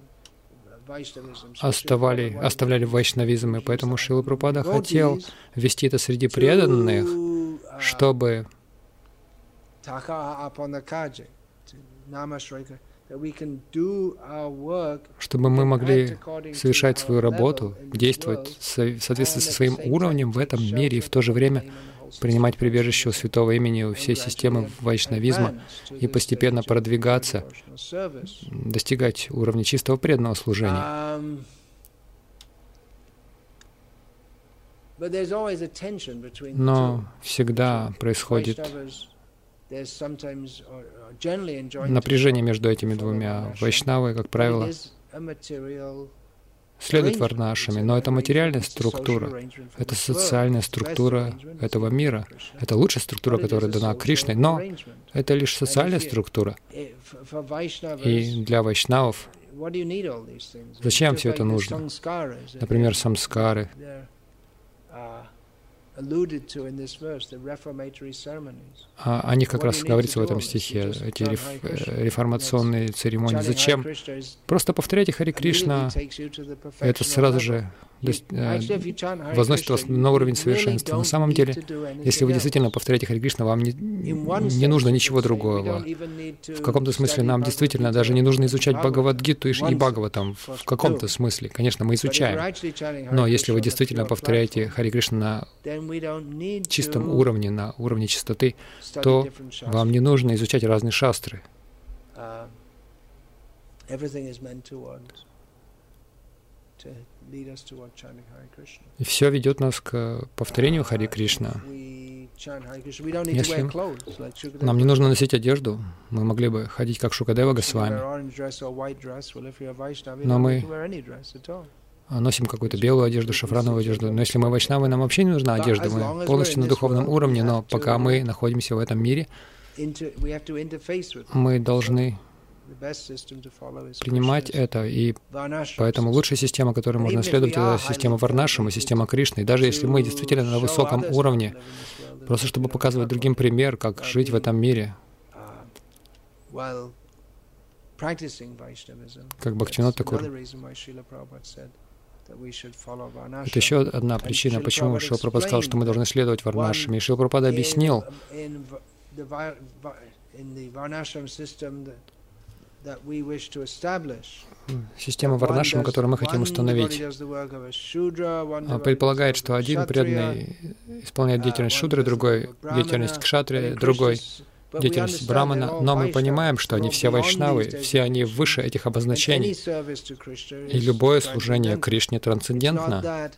Speaker 1: оставали, оставляли вайшнавизм, и поэтому Шрила Прабхупада хотел ввести это среди преданных, чтобы чтобы мы могли совершать свою работу, действовать в соответствии со своим уровнем в этом мире и в то же время принимать прибежище у святого имени, у всей системы вайшнавизма и постепенно продвигаться, достигать уровня чистого преданного служения. Но всегда происходит напряжение между этими двумя. Вайшнавы, как правило, следует Варнашраме, но это материальная структура, это социальная структура этого мира. Это лучшая структура, которая дана Кришной, но это лишь социальная структура. И для вайшнавов зачем все это нужно? Например, самскары. О них как раз говорится в этом стихе, эти реф, реформационные церемонии. Зачем? Просто повторяйте Хари Кришна, это сразу же возносит вас на уровень совершенства. На самом деле, если вы действительно повторяете Хари Кришна, вам не, не нужно ничего другого. В каком-то смысле нам действительно даже не нужно изучать Бхагавад-гиту и Бхагаватам. В каком-то смысле. Конечно, мы изучаем. Но если вы действительно повторяете Хари Кришна на чистом уровне, на уровне чистоты, то вам не нужно изучать разные шастры. И все ведет нас к повторению Хари Кришна. Если нам не нужно носить одежду, мы могли бы ходить как Шукадева Госвами, но мы носим какую-то белую одежду, шафрановую одежду. Но если мы вайшнавы, нам вообще не нужна одежда, мы полностью на духовном уровне, но пока мы находимся в этом мире, мы должны принимать это, и поэтому лучшая система, которой можно следовать, это система Варнашрама, система Кришны. И даже если мы действительно на высоком уровне, просто чтобы показывать другим пример, как жить в этом мире, как Бхактивинод Такур. Это еще одна причина, почему Шрила Прабхупада сказал, что мы должны следовать Варнашраме. И Шрила Прабхупада объяснил, система Варнашрама, которую мы хотим установить, предполагает, что один преданный исполняет деятельность шудры, другой — деятельность кшатри, другой — деятельность брамана, но мы понимаем, что они все вайшнавы, все они выше этих обозначений, и любое служение Кришне трансцендентно.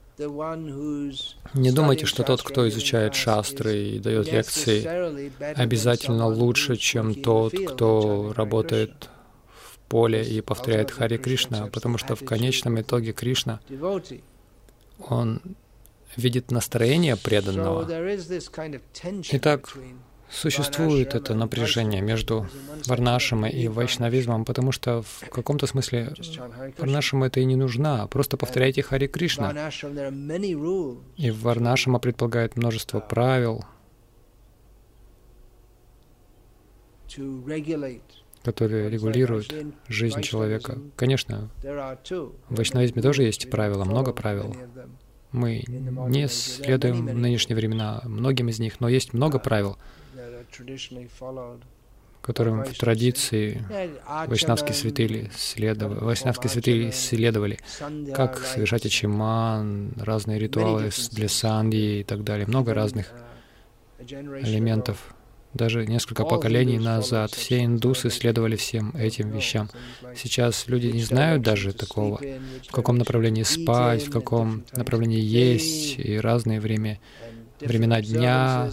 Speaker 1: Не думайте, что тот, кто изучает шастры и дает лекции, обязательно лучше, чем тот, кто работает в поле и повторяет Хари Кришна, потому что в конечном итоге Кришна, Он видит настроение преданного. Итак, существует это напряжение между варнашрамой и вайшнавизмом, потому что в каком-то смысле варнашрама это и не нужна. Просто повторяйте Хари Кришна. И варнашрама предполагает множество правил, которые регулируют жизнь человека. Конечно, в вайшнавизме тоже есть правила, много правил. Мы не следуем в нынешние времена многим из них, но есть много правил, которым в традиции вайшнавские святые следовали, вайшнавские святые исследовали, как совершать ачиман, разные ритуалы для сандхи и так далее, много разных элементов. Даже несколько поколений назад все индусы следовали всем этим вещам. Сейчас люди не знают даже такого, в каком направлении спать, в каком направлении есть, и разные время, времена дня,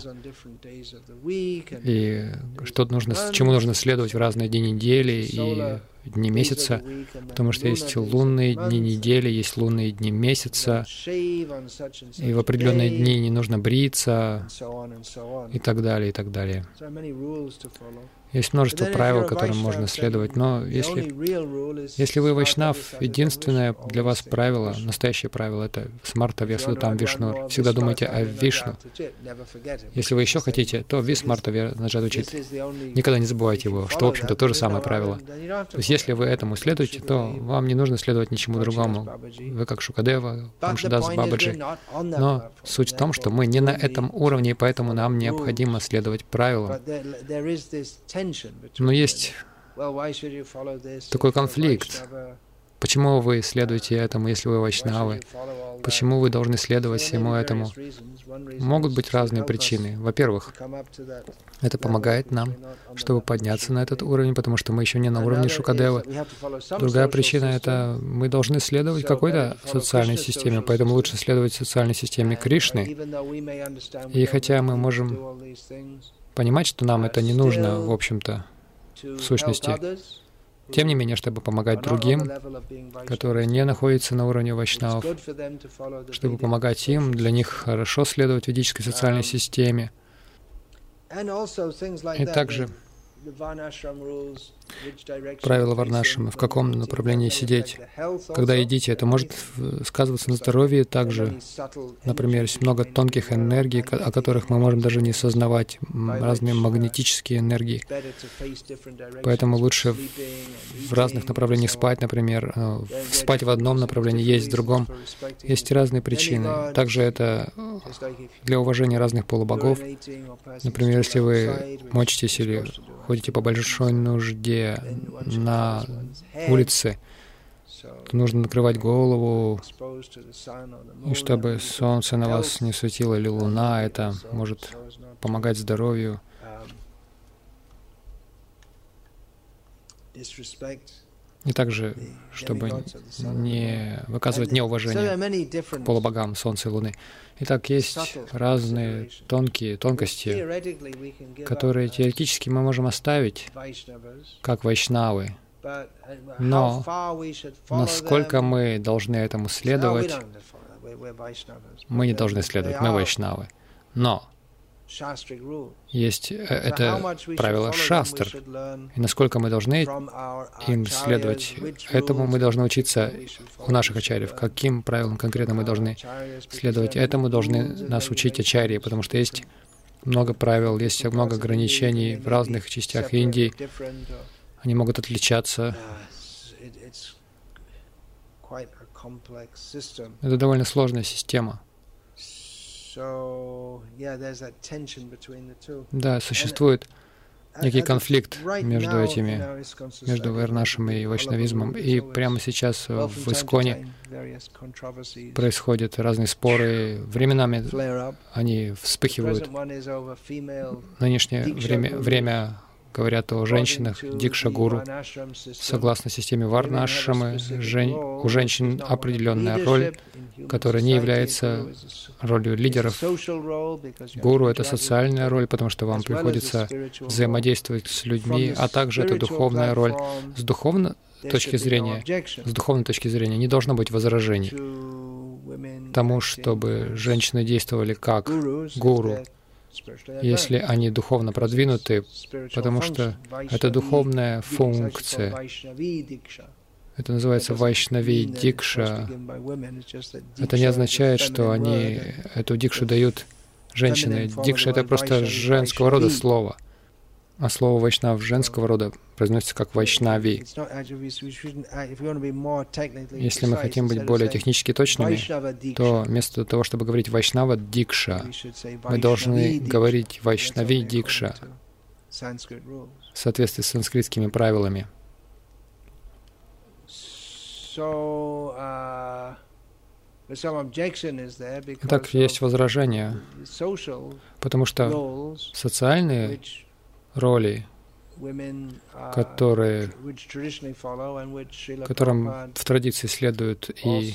Speaker 1: и что нужно, чему нужно следовать в разные дни недели и дни месяца, потому что есть лунные дни недели, есть лунные дни месяца, и в определенные дни не нужно бриться, и так далее, и так далее. Есть множество правил, которым можно следовать, но если, если вы вайшнав, единственное для вас правило, настоящее правило — это смарта вьясудатам Вишну. Всегда думайте о Вишну. Если вы еще хотите, то висмарта вьясудатам. Никогда не забывайте его, что, в общем-то, то же самое правило. То есть, если вы этому следуете, то вам не нужно следовать ничему другому. Вы как Шукадева, Амшадас Бабаджи. Но суть в том, что мы не на этом уровне, и поэтому нам необходимо следовать правилам. Но есть такой конфликт. Почему вы следуете этому, если вы вайшнавы? Почему вы должны следовать всему этому? Могут быть разные причины. Во-первых, это помогает нам, чтобы подняться на этот уровень, потому что мы еще не на уровне Шукадевы. Другая причина — это мы должны следовать какой-то социальной системе, поэтому лучше следовать социальной системе Кришны. И хотя мы можем понимать, что нам это не нужно, в общем-то, в сущности, тем не менее, чтобы помогать другим, которые не находятся на уровне вайшнавов, чтобы помогать им, для них хорошо следовать ведической социальной системе. И также правила варнашрамы, в каком направлении сидеть. Когда едите, это может сказываться на здоровье также. Например, есть много тонких энергий, о которых мы можем даже не сознавать, разные магнетические энергии. Поэтому лучше в разных направлениях спать, например, спать в одном направлении, есть в другом. Есть разные причины. Также это для уважения разных полубогов. Например, если вы мочитесь или ходите по большой нужде на улице, то нужно накрывать голову, и чтобы солнце на вас не светило или луна, это может помогать здоровью. И также, чтобы не выказывать неуважение к полубогам Солнца и Луны. Итак, есть разные тонкие тонкости, которые теоретически мы можем оставить, как вайшнавы. Но насколько мы должны этому следовать, мы не должны следовать, мы вайшнавы. Но есть это правило шастр, и насколько мы должны им следовать, этому мы должны учиться у наших ачарьев. Каким правилам конкретно мы должны следовать, этому должны нас учить ачарьи, потому что есть много правил, есть много ограничений в разных частях Индии. Они могут отличаться. Это довольно сложная система. Да, существует некий конфликт между этими, между варнашем и вайшнавизмом. И прямо сейчас в Исконе происходят разные споры. Временами они вспыхивают. Нынешнее время, время говорят о женщинах, дикша-гуру. Согласно системе варнашрамы, жен... у женщин определенная роль, которая не является ролью лидеров. Гуру — это социальная роль, потому что вам приходится взаимодействовать с людьми, а также это духовная роль. С духовной точки зрения, с духовной точки зрения не должно быть возражений тому, чтобы женщины действовали как гуру, если они духовно продвинуты, потому что это духовная функция. Это называется вайшнави дикша. Это не означает, что они эту дикшу дают женщины. Дикша — это просто женского рода слово. А слово вайшнав женского рода произносится как вайшнави. Если мы хотим быть более технически точными, то вместо того, чтобы говорить вайшнава дикша, мы должны говорить вайшнави дикша в соответствии с санскритскими правилами. Итак, есть возражение, потому что социальные роли, которые, которым в традиции следуют, и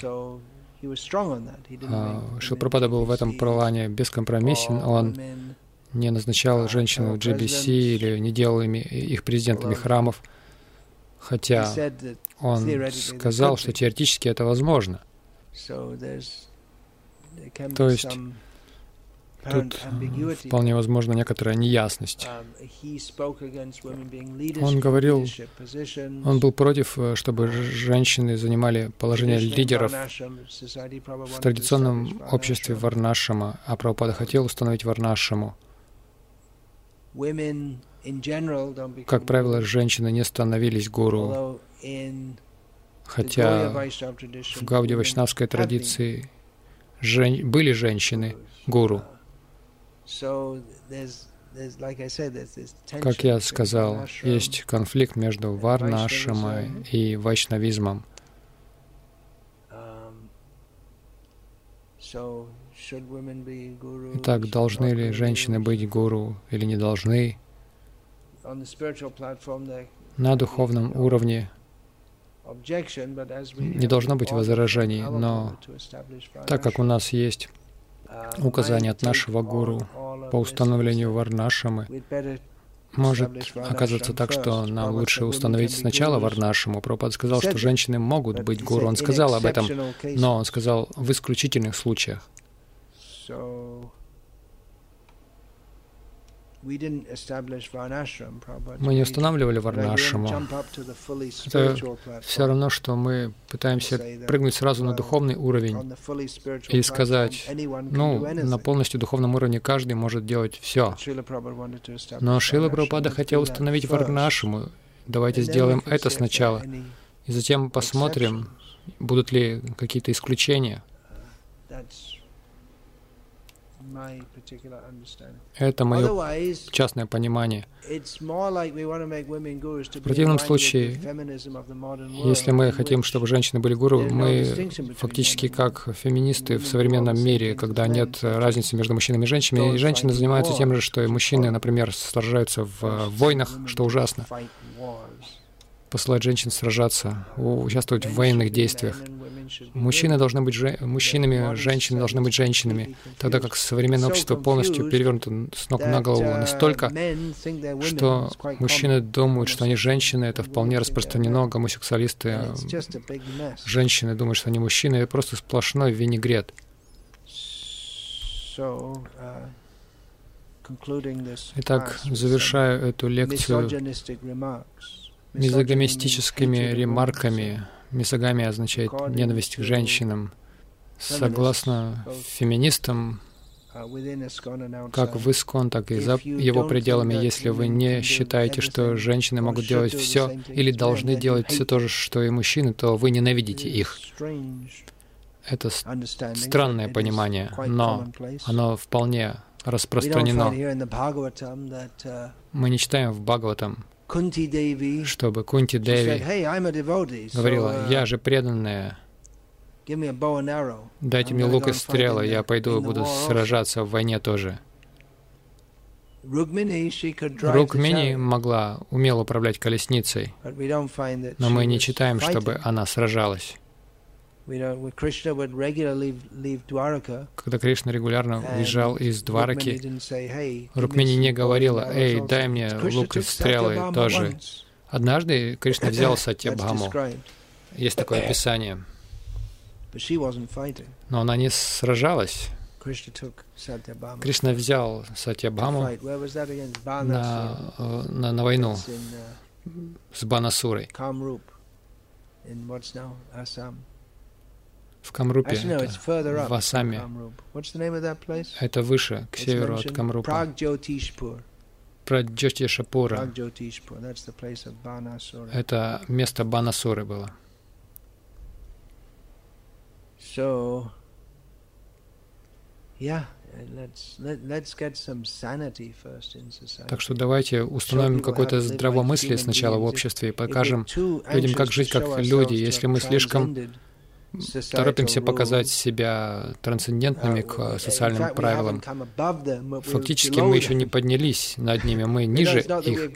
Speaker 1: а, Шрила Прабхупада был в этом плане бескомпромиссен, он не назначал женщин в джи би си или не делал ими, их президентами храмов, хотя он сказал, что теоретически это возможно. То есть тут вполне возможно некоторая неясность. Он говорил, он был против, чтобы женщины занимали положение лидеров в традиционном обществе варнашрама, а Прабхупада хотел установить варнашраму. Как правило, женщины не становились гуру, хотя в Гаудия-вайшнавской традиции жен... были женщины-гуру. Как я сказал, есть конфликт между варнашрамой и вайшнавизмом. Итак, должны ли женщины быть гуру или не должны? На духовном уровне не должно быть возражений, но так как у нас есть указание от нашего гуру по установлению варнашрамы, может оказаться так, что нам лучше установить сначала варнашраму. Прабхупада сказал, что женщины могут быть гуру. Он сказал об этом, но он сказал в исключительных случаях. Мы не устанавливали варнашраму. Это все равно, что мы пытаемся прыгнуть сразу на духовный уровень и сказать, ну, на полностью духовном уровне каждый может делать все. Но Шрила Прабхупада хотел установить варнашраму. Давайте сделаем это сначала, и затем посмотрим, будут ли какие-то исключения. Это мое частное понимание. В противном случае, если мы хотим, чтобы женщины были гуру, мы фактически как феминисты в современном мире, когда нет разницы между мужчинами и женщинами, и женщины занимаются тем же, что и мужчины, например, сражаются в войнах, что ужасно. Посылать женщин сражаться, участвовать в военных действиях. Мужчины должны быть же... мужчинами, женщины должны быть женщинами, тогда как современное общество полностью перевернуто с ног на голову настолько, что мужчины думают, что они женщины, это вполне распространено, гомосексуалисты, женщины думают, что они мужчины, это просто сплошной винегрет. Итак, завершаю эту лекцию мизогамистическими ремарками. Мизогамия означает ненависть к женщинам. Согласно феминистам, как в Искон, так и за его пределами, если вы не считаете, что женщины могут делать все или должны делать все то же, что и мужчины, то вы ненавидите их. Это странное понимание, но оно вполне распространено. Мы не читаем в Бхагаватам, чтобы Кунти Деви говорила, «Я же преданная, дайте мне лук и стрелы, я пойду и буду сражаться в войне тоже». Рукмини могла умело управлять колесницей, но мы не читаем, чтобы она сражалась. Когда Кришна регулярно уезжал из Двараки, Рукмини не говорила, «Эй, дай мне лук и стрелы тоже». Однажды Кришна взял Сатьябхаму. Есть такое описание. Но она не сражалась. Кришна взял Сатьябхаму на, на, на войну с Банасурой. В Камрупе, это, в Асаме. Это выше, к северу от Камрупа. Праджотишапура. Это место Банасуры было. Так что давайте установим какое-то здравомыслие сначала в обществе и покажем людям, как жить как люди. Если мы слишком торопимся показать себя трансцендентными к социальным правилам, фактически мы еще не поднялись над ними, мы ниже их.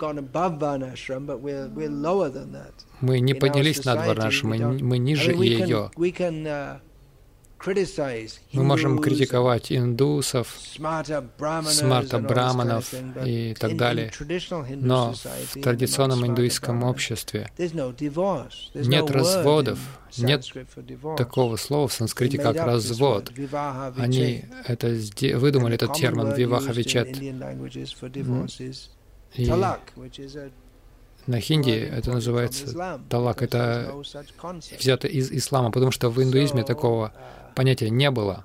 Speaker 1: Мы не поднялись над Варнашей, мы, мы ниже ее. Мы можем критиковать индусов, смарта-браманов и так далее, но в традиционном индуистском обществе нет разводов, нет такого слова в санскрите, как развод. Они это выдумали, этот термин «виваха-вичет». И на хинди это называется талак, это взято из ислама, потому что в индуизме такого понятия не было.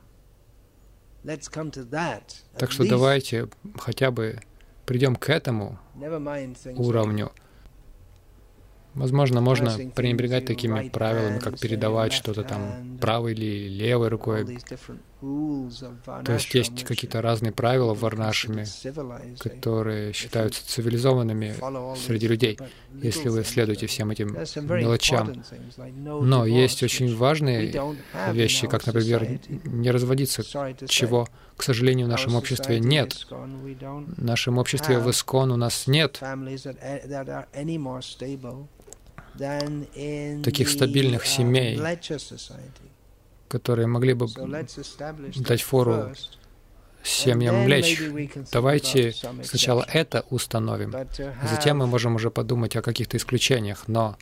Speaker 1: Так что давайте хотя бы придем к этому уровню. Возможно, можно пренебрегать такими правилами, как передавать что-то там правой или левой рукой. То есть есть какие-то разные правила в варнашраме, которые считаются цивилизованными среди людей, если вы следуете всем этим мелочам. Но есть очень важные вещи, как, например, не разводиться, чего, к сожалению, в нашем обществе нет. В нашем обществе в Искон у нас нет таких стабильных семей, которые могли бы дать фору семьям млечь. Давайте сначала это установим, затем мы можем уже подумать о каких-то исключениях. Но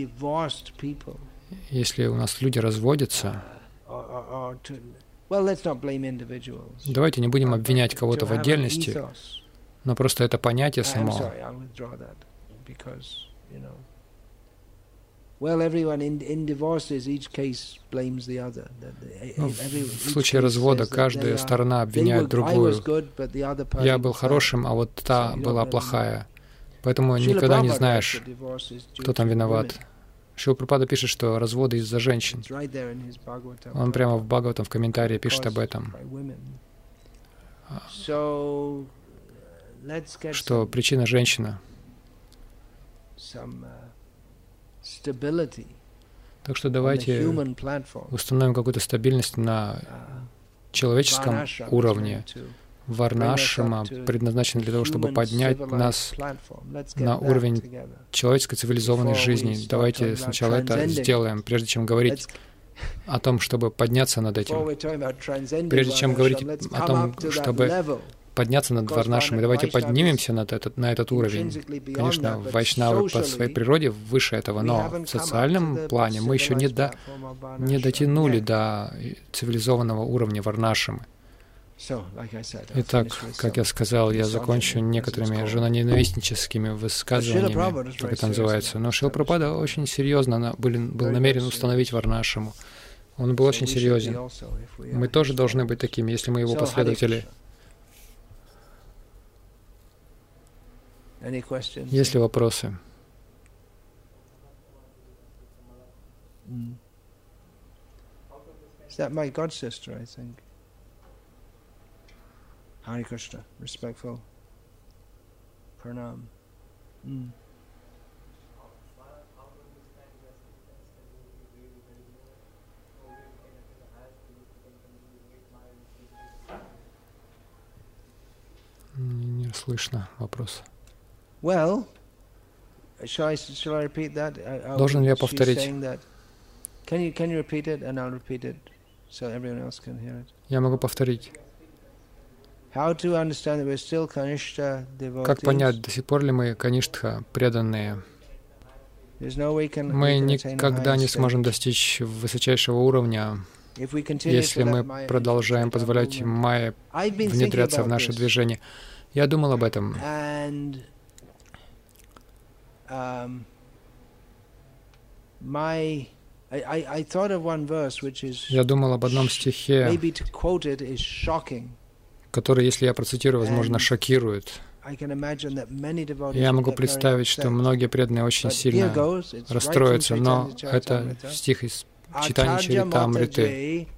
Speaker 1: если у нас люди разводятся, давайте не будем обвинять кого-то в отдельности, Но просто это понятие само.
Speaker 2: Ну, в
Speaker 1: случае развода каждая сторона обвиняет другую. Я был хорошим, а вот та была плохая. Поэтому никогда не знаешь, кто там виноват. Шрила Прабхупада пишет, что разводы из-за женщин. Он прямо в Бхагаватам в комментарии пишет об этом. Что причина женщина. Так что давайте установим какую-то стабильность на человеческом уровне. Варнашрама предназначена для того, чтобы поднять нас на уровень человеческой цивилизованной жизни. Давайте сначала это сделаем, прежде чем говорить о том, чтобы подняться над этим. Прежде чем говорить о том, чтобы подняться над Варнашрамой, давайте поднимемся над этот, на этот уровень. Конечно, вайшнавы по своей природе выше этого, но в социальном плане мы еще не, до, не дотянули до цивилизованного уровня Варнашрамы. Итак, как я сказал, я закончу некоторыми женоненавистническими высказываниями, как это называется. Но Шрила Прабхупада очень серьезно был, был намерен установить Варнашраму. Он был очень серьезен. Мы тоже должны быть такими, если мы его последователи. Есть ли вопросы?
Speaker 2: Hare Krishna, respectful pranam. Mm.
Speaker 1: Не слышно вопрос.
Speaker 2: Well, shall I, shall I repeat that? I,
Speaker 1: Должен ли я повторить?
Speaker 2: Can you, can you repeat it, and I'll repeat it, so everyone else can hear it.
Speaker 1: Я могу повторить.
Speaker 2: Как
Speaker 1: понять, до сих пор ли мы каништха преданные? Мы никогда не сможем достичь высочайшего уровня, если мы продолжаем позволять майе внедряться в наше движение. Я думал об этом. Я думал об одном стихе, который, если я процитирую, возможно, шокирует. Я могу представить, что многие преданные очень сильно расстроятся, но это стих из Чайтанья Чаритамриты.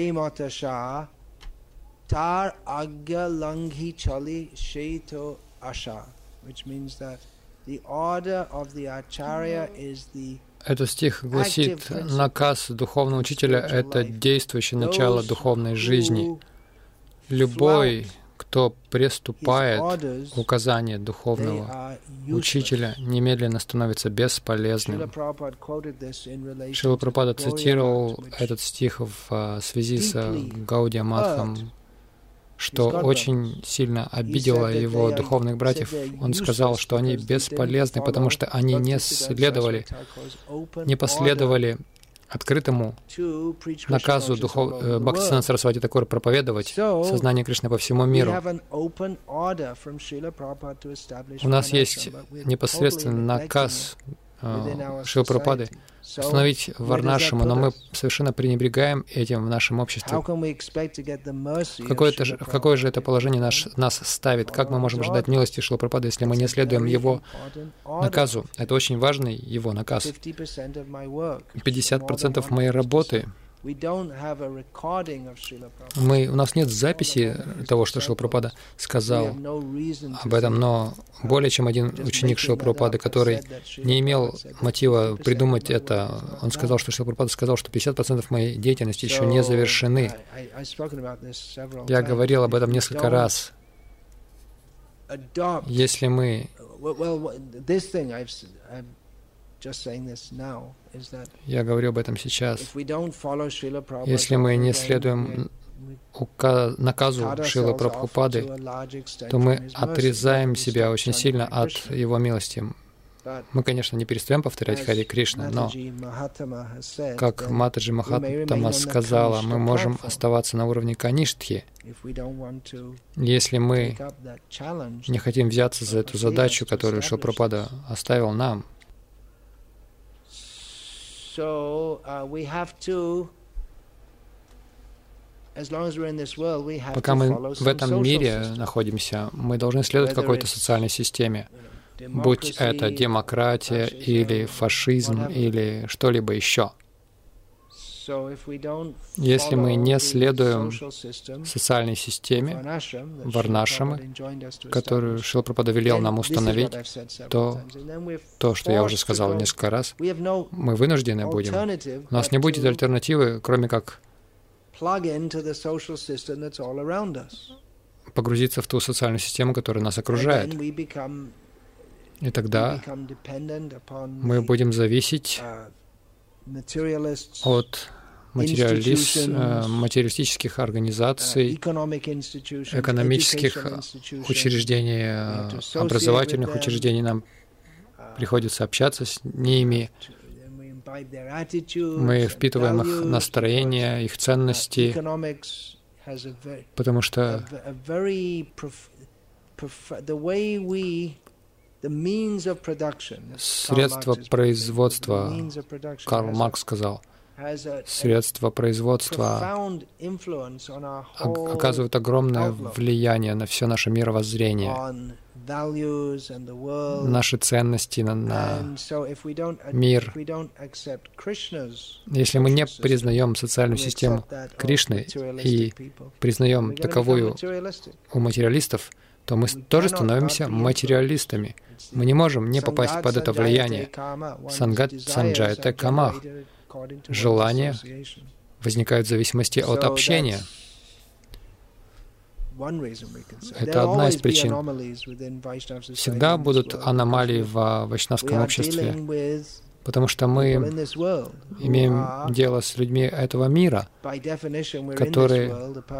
Speaker 1: Этот стих гласит, наказ духовного учителя — это действующее начало духовной жизни. Любой, кто приступает к указанию духовного учителя, немедленно становится бесполезным. Шрила Прабхупада цитировал этот стих в связи с Гаудия Матхом, что очень сильно обидело его духовных братьев. Он сказал, что они бесполезны, потому что они не следовали, не последовали открытому наказу духов... Бхактисиданта Сарасвати Такура проповедовать сознание Кришны по всему миру. У нас есть непосредственный наказ э, Шрилы Прабхупады установить Варнашраму, но мы совершенно пренебрегаем этим в нашем обществе. В какое, же, в какое же это положение наш, нас ставит? Как мы можем ждать милости Шрилы Прабхупады, если мы не следуем его наказу? Это очень важный его наказ. пятьдесят процентов моей работы. Мы, у нас нет записи того, что Шрила Прабхупада сказал об этом, но более чем один ученик Шрилы Прабхупады, который не имел мотива придумать это, он сказал, что Шрила Прабхупада сказал, что пятьдесят процентов моей деятельности еще не завершены. Я говорил об этом несколько раз. Если мы Я говорю об этом сейчас. Если мы не следуем наказу Шрилы Прабхупады, то мы отрезаем себя очень сильно от Его милости. Мы, конечно, не перестаем повторять Хари Кришна, но, как Матаджи Махатама сказала, мы можем оставаться на уровне Каништхи, если мы не хотим взяться за эту задачу, которую Шрила Прабхупада оставил нам. Пока мы в этом мире находимся, мы должны следовать какой-то социальной системе, будь это демократия или фашизм или что-либо еще. Если мы не следуем социальной системе, варнашамы, которую Шрила Прабхупада велел нам установить, то то, что я уже сказал несколько раз, мы вынуждены будем. У нас не будет альтернативы, кроме как погрузиться в ту социальную систему, которая нас окружает. И тогда мы будем зависеть от материалист, материалистических организаций, экономических учреждений, образовательных учреждений. Нам приходится общаться с ними. Мы впитываем их настроение, их ценности, потому что средства производства, Карл Маркс сказал, средства производства оказывают огромное влияние на все наше мировоззрение, наши ценности, на, на мир. Если мы не признаем социальную систему Кришны и признаем таковую у материалистов, то мы тоже становимся материалистами. Мы не можем не попасть под это влияние. Сангат санджайта камах. Желания возникают в зависимости от общения. Это одна из причин. Всегда будут аномалии в вайшнавском обществе, потому что мы имеем дело с людьми этого мира, которые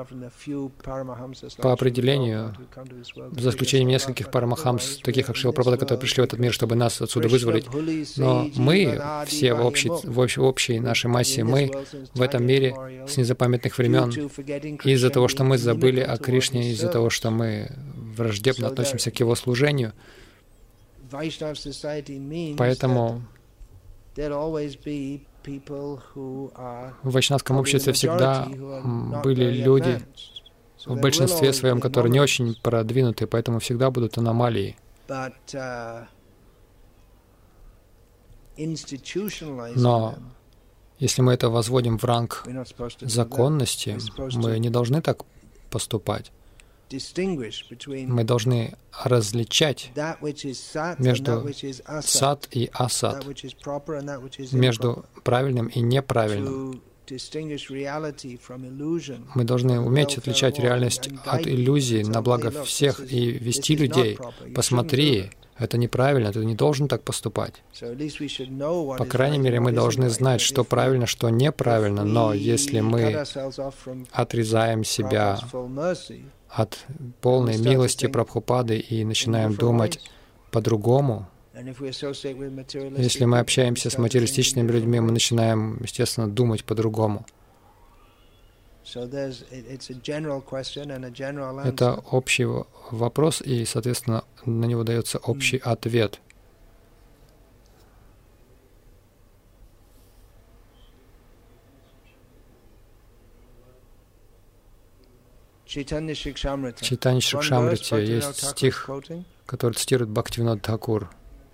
Speaker 1: по определению, за исключением нескольких парамахамс, таких как Шрила Прабхупада, которые пришли в этот мир, чтобы нас отсюда вызволить, но мы, все в общей, в общей, в общей нашей массе, мы в этом мире с незапамятных времен, из-за того, что мы забыли о Кришне, из-за того, что мы враждебно относимся к Его служению. Поэтому в вайшнавском обществе всегда были люди, в большинстве своем, которые не очень продвинуты, поэтому всегда будут аномалии. Но если мы это возводим в ранг законности, мы не должны так поступать. Мы должны различать между сат и асат, между правильным и неправильным. Мы должны уметь отличать реальность от иллюзий на благо всех и вести людей. Посмотри, это неправильно, ты не должен так поступать. По крайней мере, мы должны знать, что правильно, что неправильно, но если мы отрезаем себя от полной милости Прабхупады и начинаем думать по-другому, если мы общаемся с материалистичными людьми, мы начинаем, естественно, думать по-другому. Это общий вопрос, и, соответственно, на него дается общий ответ. В Чайтанья Шрикшамрите есть стих, который цитирует Бхактивинод Тхакур.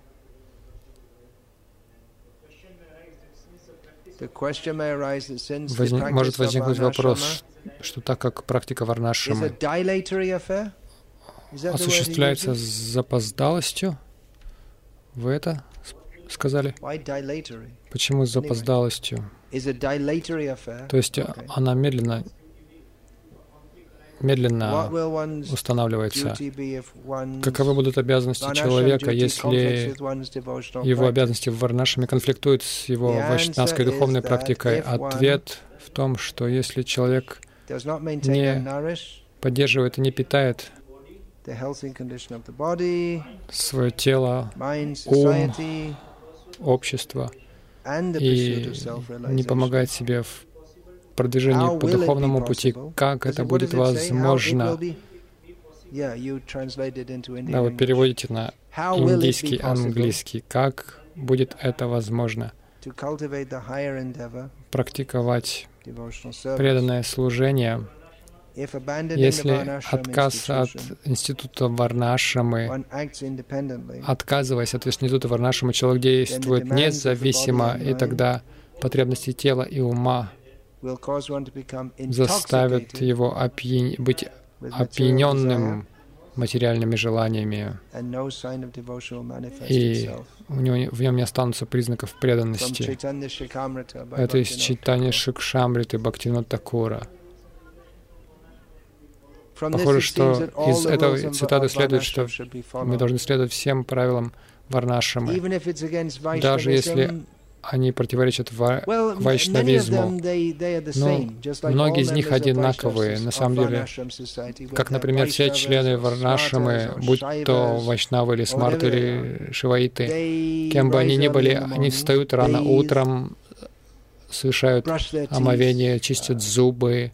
Speaker 1: Возник, может возникнуть вопрос, что так как практика варнашрамы осуществляется с запоздалостью, вы это сказали? Почему с запоздалостью? То есть она медленно медленно устанавливается. Каковы будут обязанности человека, если его обязанности в варнашраме конфликтуют с его вайшнавской духовной практикой? Ответ в том, что если человек не поддерживает и не питает свое тело, ум, общество и не помогает себе в продвижении по духовному пути. Как это будет возможно? Да, вы переводите на индийский, английский. Как будет это возможно? Практиковать преданное служение, если отказ от института Варнашрамы, отказываясь от института Варнашрамы, человек действует независимо, и тогда потребности тела и ума заставят его опьян... быть опьяненным материальными желаниями, и у него, в нем не останутся признаков преданности. Это из Чайтанья Шикшамриты Бхактивинода Такура. Похоже, что из этой цитаты следует, что мы должны следовать всем правилам Варнашрамы, даже если они противоречат ва- вайшнавизму. Но многие из них одинаковые. На самом деле, как, например, все члены Варнашрамы, будь то вайшнавы или смарты или шиваиты, кем бы они ни были, они встают рано утром, совершают омовение, чистят зубы.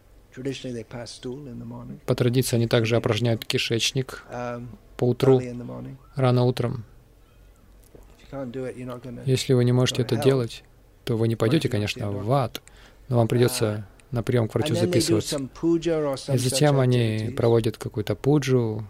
Speaker 1: По традиции они также опорожняют кишечник по утру, рано утром. Если вы не можете это делать, то вы не пойдете, конечно, в ад, но вам придется на прием к врачу записываться. И затем они проводят какую-то пуджу.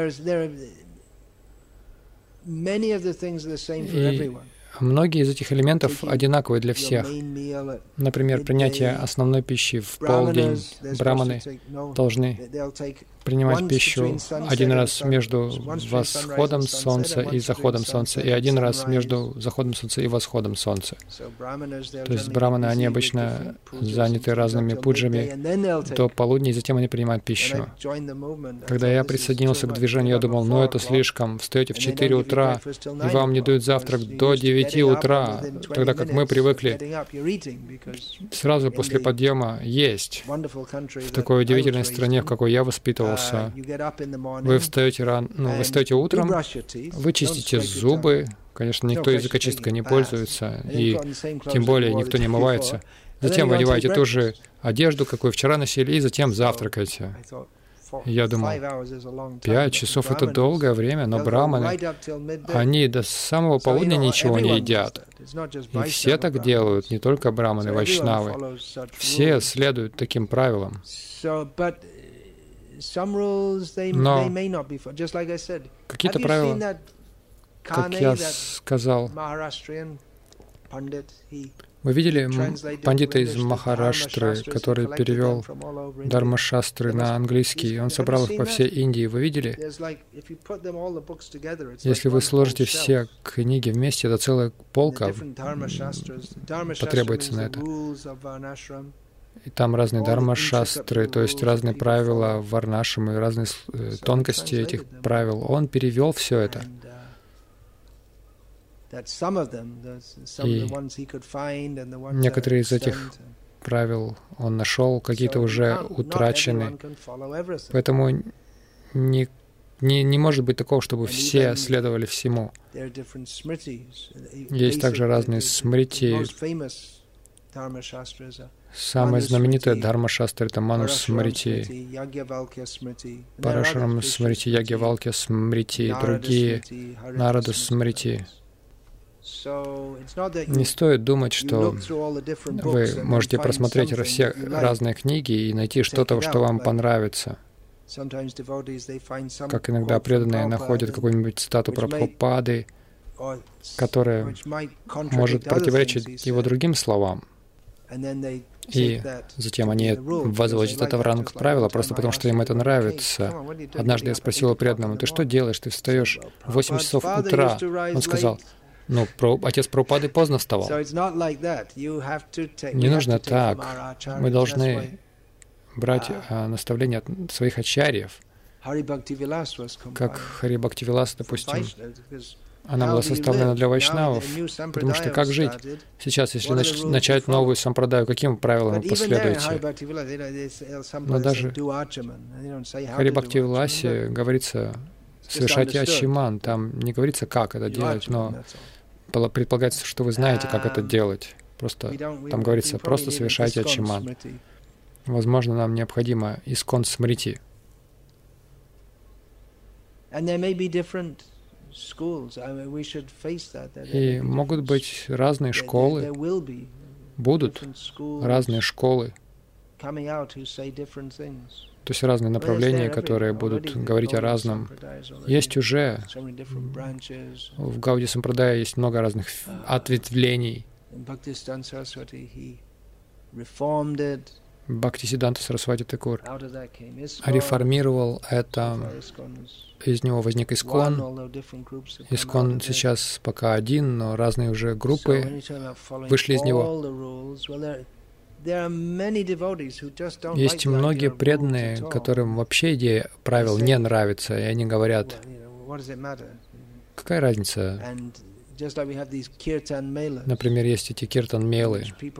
Speaker 1: И многие из этих элементов одинаковые для всех. Например, принятие основной пищи в полдень. Браманы должны принимать пищу один раз между восходом солнца и заходом солнца, и один раз между заходом солнца и восходом солнца. То есть браманы, они обычно заняты разными пуджами до полудня, и затем они принимают пищу. Когда я присоединился к движению, я думал, ну это слишком, встаете в четыре утра, и вам не дают завтрак до девяти утра, тогда как мы привыкли сразу после подъема есть. В такой удивительной стране, в какой я воспитывался, вы встаете рано, ну, вы встаете утром, вы чистите зубы, конечно, никто языкочисткой не пользуется, и тем более никто не омывается. Затем вы одеваете ту же одежду, какую вчера носили, и затем завтракаете. И я думал, пять часов — это долгое время, но браманы, они до самого полудня ничего не едят. И все так делают, не только браманы, вайшнавы. Все следуют таким правилам. Но какие-то правила, как я сказал, вы видели пандита из Махараштры, который перевел Дharma-шастры на английский, он собрал их по всей Индии. Вы видели? Если вы сложите все книги вместе, это целая полка потребуется на это. И там разные дharma-шастры, то есть разные правила варнашрамы, разные тонкости этих правил. Он перевел все это. И некоторые из этих правил он нашел, какие-то уже утрачены. Поэтому не, не, не может быть такого, чтобы все следовали всему. Есть также разные смрити. Самая знаменитая дхарма-шастра — это Ману-смрити, Парашурам смрити, Ягьявалкья смрити и другие, Нарада-смрити. Не стоит думать, что вы можете просмотреть все разные книги и найти что-то, что вам понравится. Как иногда преданные находят какую-нибудь цитату Прабхупады, которая может противоречить его другим словам. И затем они возводят это в ранг правила, просто потому что им это нравится. Однажды я спросил у преданного: «Ты что делаешь? Ты встаешь в восемь часов утра». Он сказал: «Ну, про... отец Прабхупады поздно вставал». Не нужно так. Мы должны брать а, наставления от своих ачарьев. Как Хари Бхактивилас, допустим, она была составлена для вайшнавов, потому что как жить? Сейчас, если нач начать новую сампрадаю, каким правилам вы последуете? Но даже в Хари Бхакти Виласе говорится, совершайте ачиман. Там не говорится, как это делать, но предполагается, что вы знаете, как это делать. Просто там говорится, просто совершайте ачиман. Возможно, нам необходимо искон смрити. И могут быть разные школы, будут разные школы, то есть разные направления, которые будут говорить о разном. Есть уже, в Гауди Сампрадае есть много разных ответвлений. Бхактисиданта Сарасвати Такур реформировал это, из него возник Искон. Искон сейчас пока один, но разные уже группы вышли из него. Есть многие преданные, которым вообще идея правил не нравится, и они говорят, какая разница? Например, есть эти киртан-мейлы,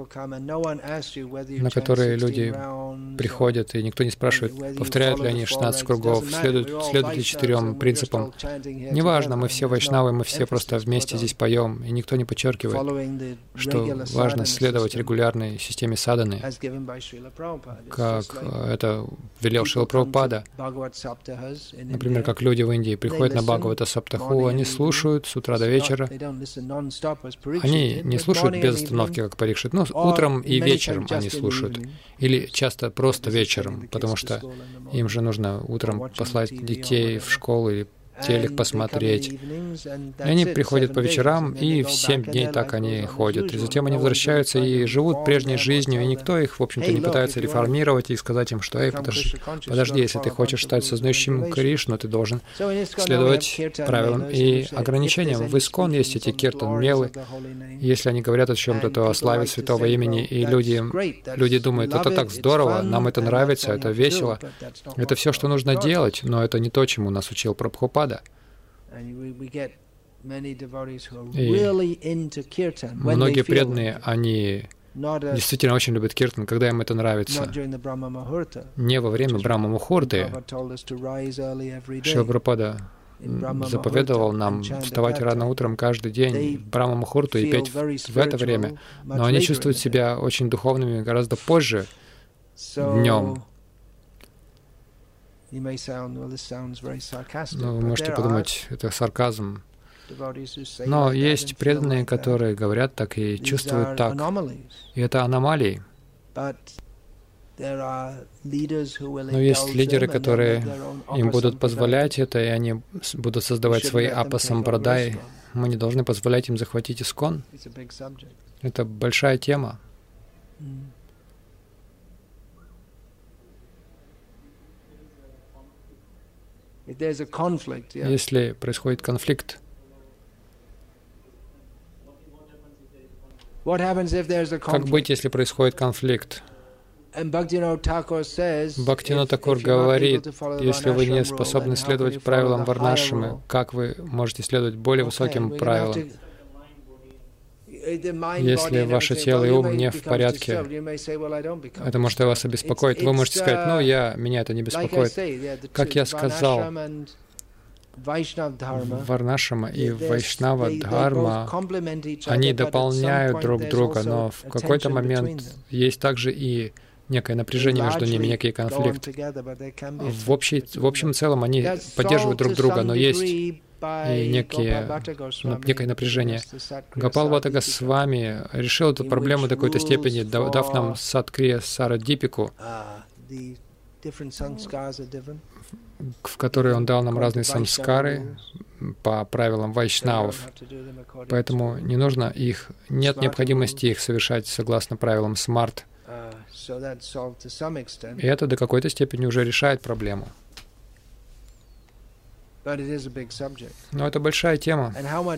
Speaker 1: на которые люди приходят, и никто не спрашивает, повторяют ли они шестнадцать кругов, следуют, следуют ли четырем принципам. Неважно, мы все вайшнавы, мы все просто вместе здесь поем, и никто не подчеркивает, что важно следовать регулярной системе садханы, как это велел Шрила Прабхупада. Например, как люди в Индии приходят на Бхагавата Саптаху, они слушают с утра до вечера. Они не слушают без остановки, как Парикшит, но утром и вечером они слушают. Или часто просто вечером, потому что им же нужно утром послать детей в школу или телек посмотреть. И они приходят по вечерам, и в семь дней так они ходят. И затем они возвращаются и живут прежней жизнью, и никто их, в общем-то, не пытается реформировать и сказать им, что «Эй, подожди, подожди, если ты хочешь стать сознающим Кришну, ты должен следовать правилам и ограничениям». В Искон есть эти киртан-мелы. Если они говорят о чем-то, то о славе святого имени, и люди, люди думают, это так здорово, нам это нравится, это весело. Это все, что нужно делать, но это не то, чему нас учил Прабхупада. И многие преданные, они действительно очень любят киртан, когда им это нравится. Не во время Брахма-мухурты. Шрила Прабхупада заповедовал нам вставать рано утром каждый день в Брахма-мухурту и петь в это время. Но они чувствуют себя очень духовными гораздо позже, днем. Ну, вы можете подумать, это сарказм. Но есть преданные, которые говорят так и чувствуют так. И это аномалии. Но есть лидеры, которые им будут позволять это, и они будут создавать свои апа-сампрадаи. Мы не должны позволять им захватить Искон. Это большая тема. Если происходит конфликт, как быть, если происходит конфликт? Бхактивинода Такур говорит, если вы не способны следовать правилам варнашрамы, как вы можете следовать более высоким правилам? Если ваше тело и ум не в порядке, это может вас обеспокоить. Вы можете сказать, ну, я, меня это не беспокоит. Как я сказал, Варнашрама и Вайшнава Дхарма, они дополняют друг друга, но в какой-то момент есть также и некое напряжение между ними, некий конфликт. В, общей, в общем и целом они поддерживают друг друга, но есть и некие, некое напряжение. Гопал Бхатта Госвами решил эту проблему до какой-то степени, дав нам Садкрия Сарадипику, в которой он дал нам разные самскары по правилам вайшнавов. Поэтому не нужно их, нет необходимости их совершать согласно правилам смарт. И это до какой-то степени уже решает проблему. Но это большая тема.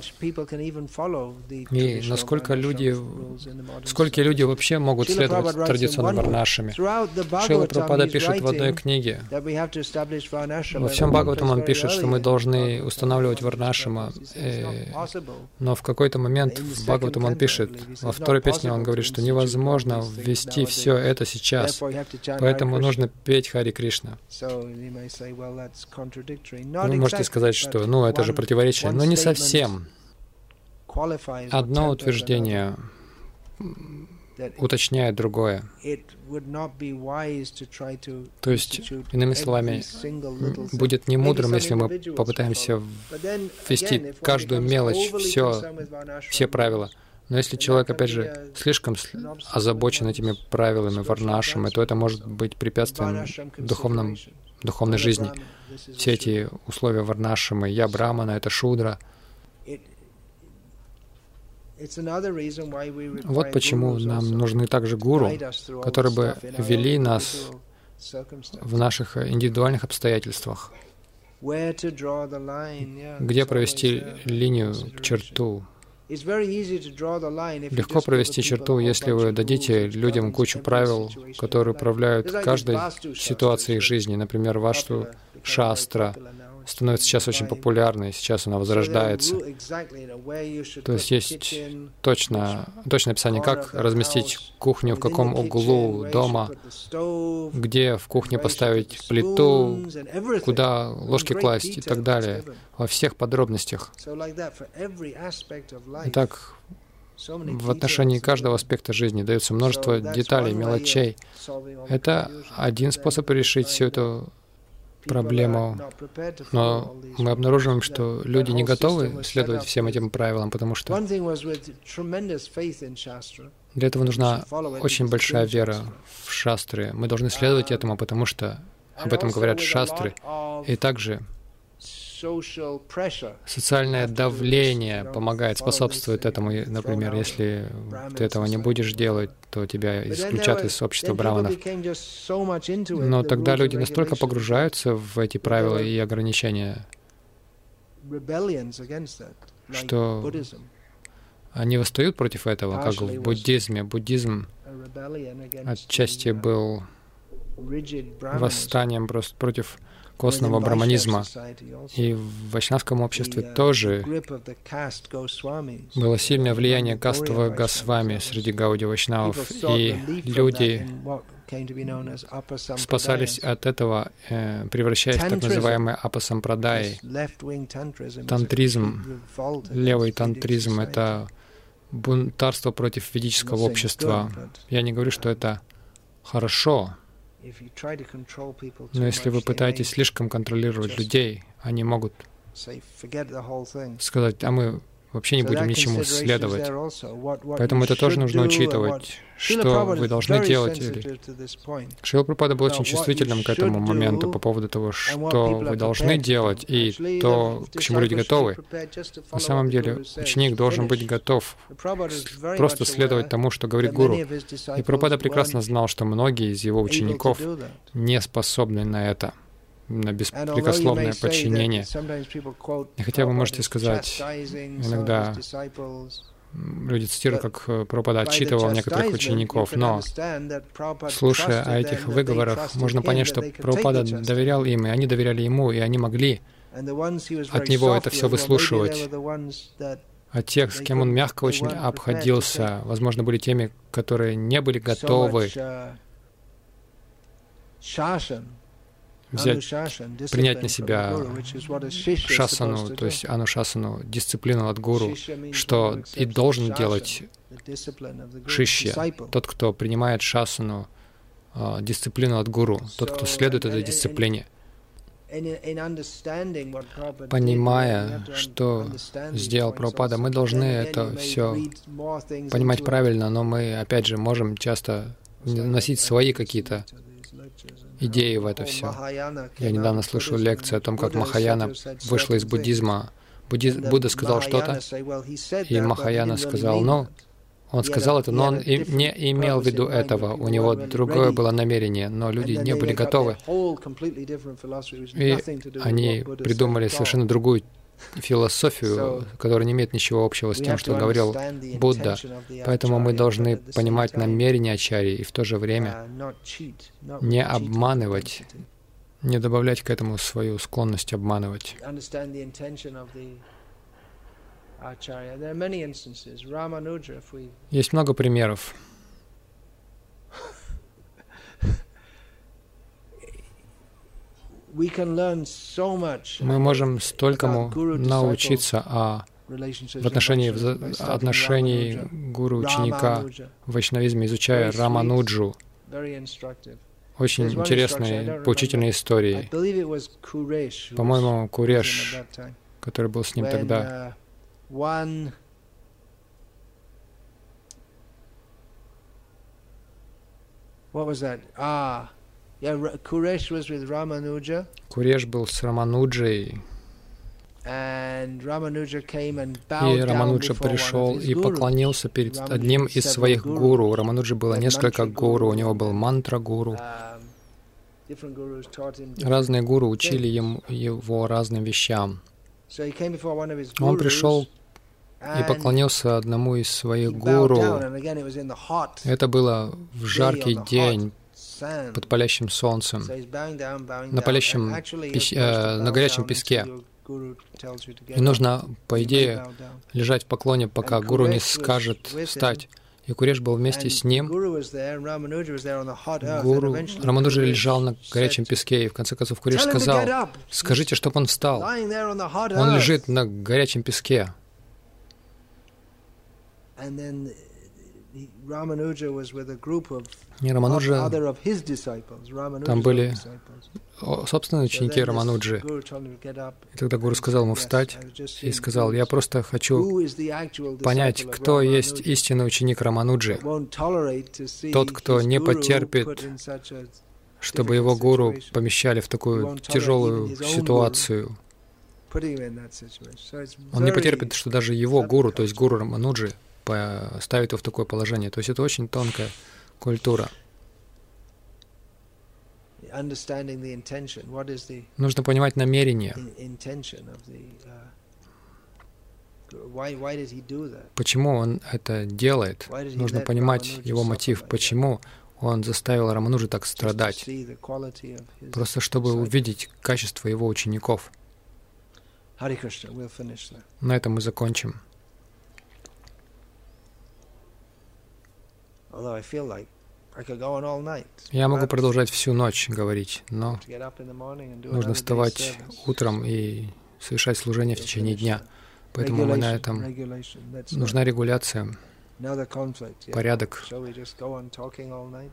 Speaker 1: И насколько люди, сколько люди вообще могут следовать традиционным варнашами. Шрила Прабхупада пишет в одной книге, во всем Бхагаватам он пишет, что мы должны устанавливать варнашама, э, но в какой-то момент в Бхагаватам он пишет, во второй песне он говорит, что невозможно ввести все это сейчас, поэтому нужно петь Хари Кришна. Вы можете сказать, что ну это же противоречие, но не совсем. Одно утверждение уточняет другое. То есть, иными словами, будет не мудрым, если мы попытаемся ввести каждую мелочь, все, все правила. Но если человек, опять же, слишком озабочен этими правилами, варнашами, то это может быть препятствием духовном, духовной жизни. Все эти условия варнашамы, я брамана, это шудра. Вот почему нам нужны также гуру, которые бы вели нас в наших индивидуальных обстоятельствах. Где провести линию, черту? Легко провести черту, если вы дадите людям кучу правил, которые управляют каждой ситуацией их жизни. Например, вашу шастра становится сейчас очень популярной, сейчас она возрождается. То есть есть точно, точное описание, как разместить кухню, в каком углу дома, где в кухне поставить плиту, куда ложки класть и так далее, во всех подробностях. Итак, в отношении каждого аспекта жизни дается множество деталей, мелочей. Это один способ решить всю эту проблему, но мы обнаруживаем, что люди не готовы следовать всем этим правилам, потому что для этого нужна очень большая вера в шастры. Мы должны следовать этому, потому что об этом говорят шастры. И также социальное давление помогает, способствует этому. Например, если ты этого не будешь делать, то тебя исключат из общества браманов. Но тогда люди настолько погружаются в эти правила и ограничения, что они восстают против этого, как в буддизме. Буддизм отчасти был восстанием просто против костного браманизма. И в вайшнавском обществе тоже было сильное влияние кастового Госвами среди гауди вайшнавов, и люди спасались от этого, превращаясь в так называемые апасампрадаи. Тантризм, левый тантризм — это бунтарство против ведического общества. Я не говорю, что это хорошо, но если вы пытаетесь слишком контролировать людей, они могут сказать, а мы вообще не будем ничему следовать. Поэтому это тоже нужно учитывать, что вы должны делать. Шрила Прабхупада был очень чувствительным к этому моменту по поводу того, что вы должны делать и то, к чему люди готовы. На самом деле, ученик должен быть готов просто следовать тому, что говорит гуру. И Прабхупада прекрасно знал, что многие из его учеников не способны на это, на беспрекословное подчинение. И хотя вы можете сказать, иногда люди цитируют, как Прабхупада отчитывал некоторых учеников, но, слушая о этих выговорах, можно понять, что Прабхупада доверял им, и они доверяли ему, и они могли от него это все выслушивать. А тех, с кем он мягко очень обходился, возможно, были теми, которые не были готовы взять, принять на себя шасану, то есть анушасану, дисциплину от гуру, что и должен делать шишья, тот, кто принимает шасану, дисциплину от гуру, тот, кто следует этой дисциплине. Понимая, что сделал Прабхупада, мы должны это все понимать правильно, но мы, опять же, можем часто вносить свои какие-то идеи в это все. Я недавно слышал лекцию о том, как Махаяна вышла из буддизма. Будди... Будда сказал что-то, и Махаяна сказал, ну, Он сказал это, но он и не имел в виду этого. У него другое было намерение, но люди не были готовы. И они придумали совершенно другую философию, которая не имеет ничего общего с тем, что говорил Будда. Поэтому мы должны понимать намерение ачарьи и в то же время не обманывать, не добавлять к этому свою склонность обманывать. Есть много примеров. Мы можем столькому научиться о, в отношении в отношении гуру-ученика в вайшнавизме, изучая Рамануджу. Очень интересные, поучительные истории. По-моему, Куреш, который был с ним тогда.
Speaker 2: Yeah, Kuresh was with Ramanuja.
Speaker 1: Куреш был с Рамануджей.
Speaker 2: And Ramanuja came and
Speaker 1: И
Speaker 2: bowed down
Speaker 1: Рамануджа
Speaker 2: before one of
Speaker 1: пришел
Speaker 2: his
Speaker 1: и
Speaker 2: gurus.
Speaker 1: поклонился перед
Speaker 2: Ramanuja
Speaker 1: одним
Speaker 2: had
Speaker 1: из
Speaker 2: several
Speaker 1: своих
Speaker 2: gurus.
Speaker 1: гуру. У Рамануджи было
Speaker 2: He had
Speaker 1: несколько
Speaker 2: mantra
Speaker 1: гуру. У
Speaker 2: guru.
Speaker 1: него был мантра-гуру.
Speaker 2: Um, different gurus taught him different
Speaker 1: Разные гуру учили
Speaker 2: things.
Speaker 1: ему, его разным вещам.
Speaker 2: So he came before one of his
Speaker 1: Он
Speaker 2: gurus,
Speaker 1: пришел и
Speaker 2: and
Speaker 1: поклонился одному из своих
Speaker 2: he bowed
Speaker 1: гуру.
Speaker 2: down, and again it was in the hot
Speaker 1: Это было в
Speaker 2: day
Speaker 1: жаркий
Speaker 2: on the hot
Speaker 1: день
Speaker 2: sand.
Speaker 1: под палящим солнцем,
Speaker 2: So he's bowing down, bowing
Speaker 1: на
Speaker 2: down.
Speaker 1: палящем
Speaker 2: And actually,
Speaker 1: пес-
Speaker 2: you're supposed to
Speaker 1: э, на
Speaker 2: bow
Speaker 1: горячем
Speaker 2: down
Speaker 1: песке.
Speaker 2: until your guru tells you to get
Speaker 1: И нужно,
Speaker 2: up.
Speaker 1: по
Speaker 2: You may
Speaker 1: идее,
Speaker 2: bow down.
Speaker 1: лежать в поклоне, пока
Speaker 2: And
Speaker 1: гуру не
Speaker 2: Kuresh was
Speaker 1: скажет
Speaker 2: with him.
Speaker 1: встать. И Куреш был вместе
Speaker 2: And
Speaker 1: с ним.
Speaker 2: Guru was there, and Ramanuja was there on the hot earth, and
Speaker 1: Гуру
Speaker 2: eventually
Speaker 1: Рамануджа
Speaker 2: Kuresh
Speaker 1: лежал на горячем
Speaker 2: said,
Speaker 1: песке, и в конце концов Куреш
Speaker 2: "Tell him to
Speaker 1: сказал:
Speaker 2: get up.
Speaker 1: «Скажите, чтобы он встал.
Speaker 2: Lying there on the hot
Speaker 1: Он
Speaker 2: earth."
Speaker 1: лежит на горячем песке».
Speaker 2: And then he- Ramanuja was with a group of
Speaker 1: И
Speaker 2: of
Speaker 1: Рамануджа,
Speaker 2: other of his disciples, Ramanuja's
Speaker 1: там
Speaker 2: own
Speaker 1: были
Speaker 2: disciples.
Speaker 1: о, собственные
Speaker 2: So
Speaker 1: ученики
Speaker 2: then this
Speaker 1: Рамануджи.
Speaker 2: guru told him to get up,
Speaker 1: И тогда гуру
Speaker 2: and he
Speaker 1: сказал
Speaker 2: said,
Speaker 1: ему
Speaker 2: "Yes,
Speaker 1: встать
Speaker 2: I was just
Speaker 1: и
Speaker 2: seeing
Speaker 1: сказал: «Я
Speaker 2: gurus.
Speaker 1: просто хочу
Speaker 2: Who is the actual
Speaker 1: понять,
Speaker 2: disciple of
Speaker 1: кто есть
Speaker 2: Ramanuja
Speaker 1: истинный ученик Рамануджи,
Speaker 2: that won't tolerate to see
Speaker 1: тот, кто
Speaker 2: his
Speaker 1: не
Speaker 2: guru
Speaker 1: потерпит,
Speaker 2: put in such a
Speaker 1: чтобы его гуру
Speaker 2: situation.
Speaker 1: помещали в такую тяжелую ситуацию.
Speaker 2: putting him in that situation." So it's
Speaker 1: Он не
Speaker 2: very
Speaker 1: потерпит, что даже его гуру, то есть гуру Рамануджи, ставит его в такое положение. То есть это очень тонкая культура.
Speaker 2: understanding the intention. What is the
Speaker 1: Нужно понимать намерение.
Speaker 2: in- intention of the uh, guru? Why why did he do that?
Speaker 1: Почему он это делает?
Speaker 2: Why did he
Speaker 1: Нужно
Speaker 2: let
Speaker 1: понимать
Speaker 2: Ramanuja
Speaker 1: его
Speaker 2: suffer
Speaker 1: мотив.
Speaker 2: like that?
Speaker 1: Почему он заставил Рамануджи так
Speaker 2: Just to
Speaker 1: страдать?
Speaker 2: see the quality of his
Speaker 1: Просто чтобы
Speaker 2: disciples.
Speaker 1: увидеть качество его учеников.
Speaker 2: Hare Krishna, we'll finish there.
Speaker 1: На этом мы закончим.
Speaker 2: Although I feel like I could go on all night.
Speaker 1: Я могу
Speaker 2: But
Speaker 1: продолжать всю ночь говорить, но
Speaker 2: to get up in the morning and do
Speaker 1: нужно
Speaker 2: another day's
Speaker 1: вставать
Speaker 2: service.
Speaker 1: утром и совершать служение в течение дня. Поэтому мы на
Speaker 2: Regulation,
Speaker 1: этом...
Speaker 2: regulation, that's
Speaker 1: Нужна регуляция,
Speaker 2: another conflict. Yeah.
Speaker 1: порядок.
Speaker 2: Shall we just go on talking all night?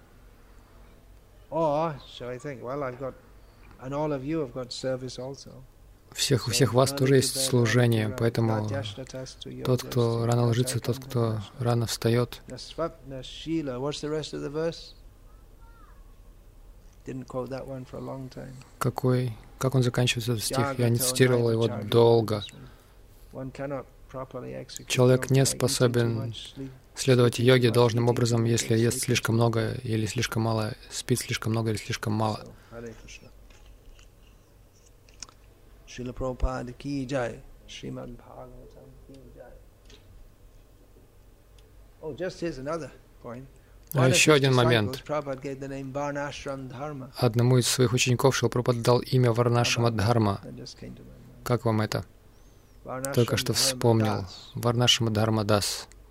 Speaker 2: Or shall I think, well, I've got, and all of you have got service also.
Speaker 1: Всех, у всех вас тоже есть служение, поэтому тот, кто рано ложится, тот, кто рано встает.
Speaker 2: Nasvapna Shila. What's the rest of the verse? Didn't quote that one for a long time.
Speaker 1: Какой, как он заканчивается этот стих? Я не
Speaker 2: Jagato
Speaker 1: цитировал его
Speaker 2: Naiva
Speaker 1: долго.
Speaker 2: One cannot properly execute
Speaker 1: Человек
Speaker 2: yoga
Speaker 1: не
Speaker 2: by eating too
Speaker 1: способен
Speaker 2: much, sleep-
Speaker 1: следовать
Speaker 2: sleeping
Speaker 1: йоге
Speaker 2: too much,
Speaker 1: должным
Speaker 2: eating
Speaker 1: образом,
Speaker 2: too much,
Speaker 1: если ест
Speaker 2: sleeping
Speaker 1: слишком
Speaker 2: too
Speaker 1: много
Speaker 2: much.
Speaker 1: или слишком мало, спит слишком много или слишком мало.
Speaker 2: So, Hare Krishna. Srila Prabhupada ki jai. Srimad Bhagavatam ki jai. Oh, just here's another point.
Speaker 1: А еще один момент.
Speaker 2: Prabhupada gave the name Varnashram Dharma.
Speaker 1: Одному из своих учеников Шрила Прабхупада дал имя Варнашрама Дхарма.
Speaker 2: That just came to my mind.
Speaker 1: Как вам это?
Speaker 2: Varnashram
Speaker 1: Только что
Speaker 2: Dharma
Speaker 1: вспомнил.
Speaker 2: Das.
Speaker 1: Варнашрама Дхарма Дас.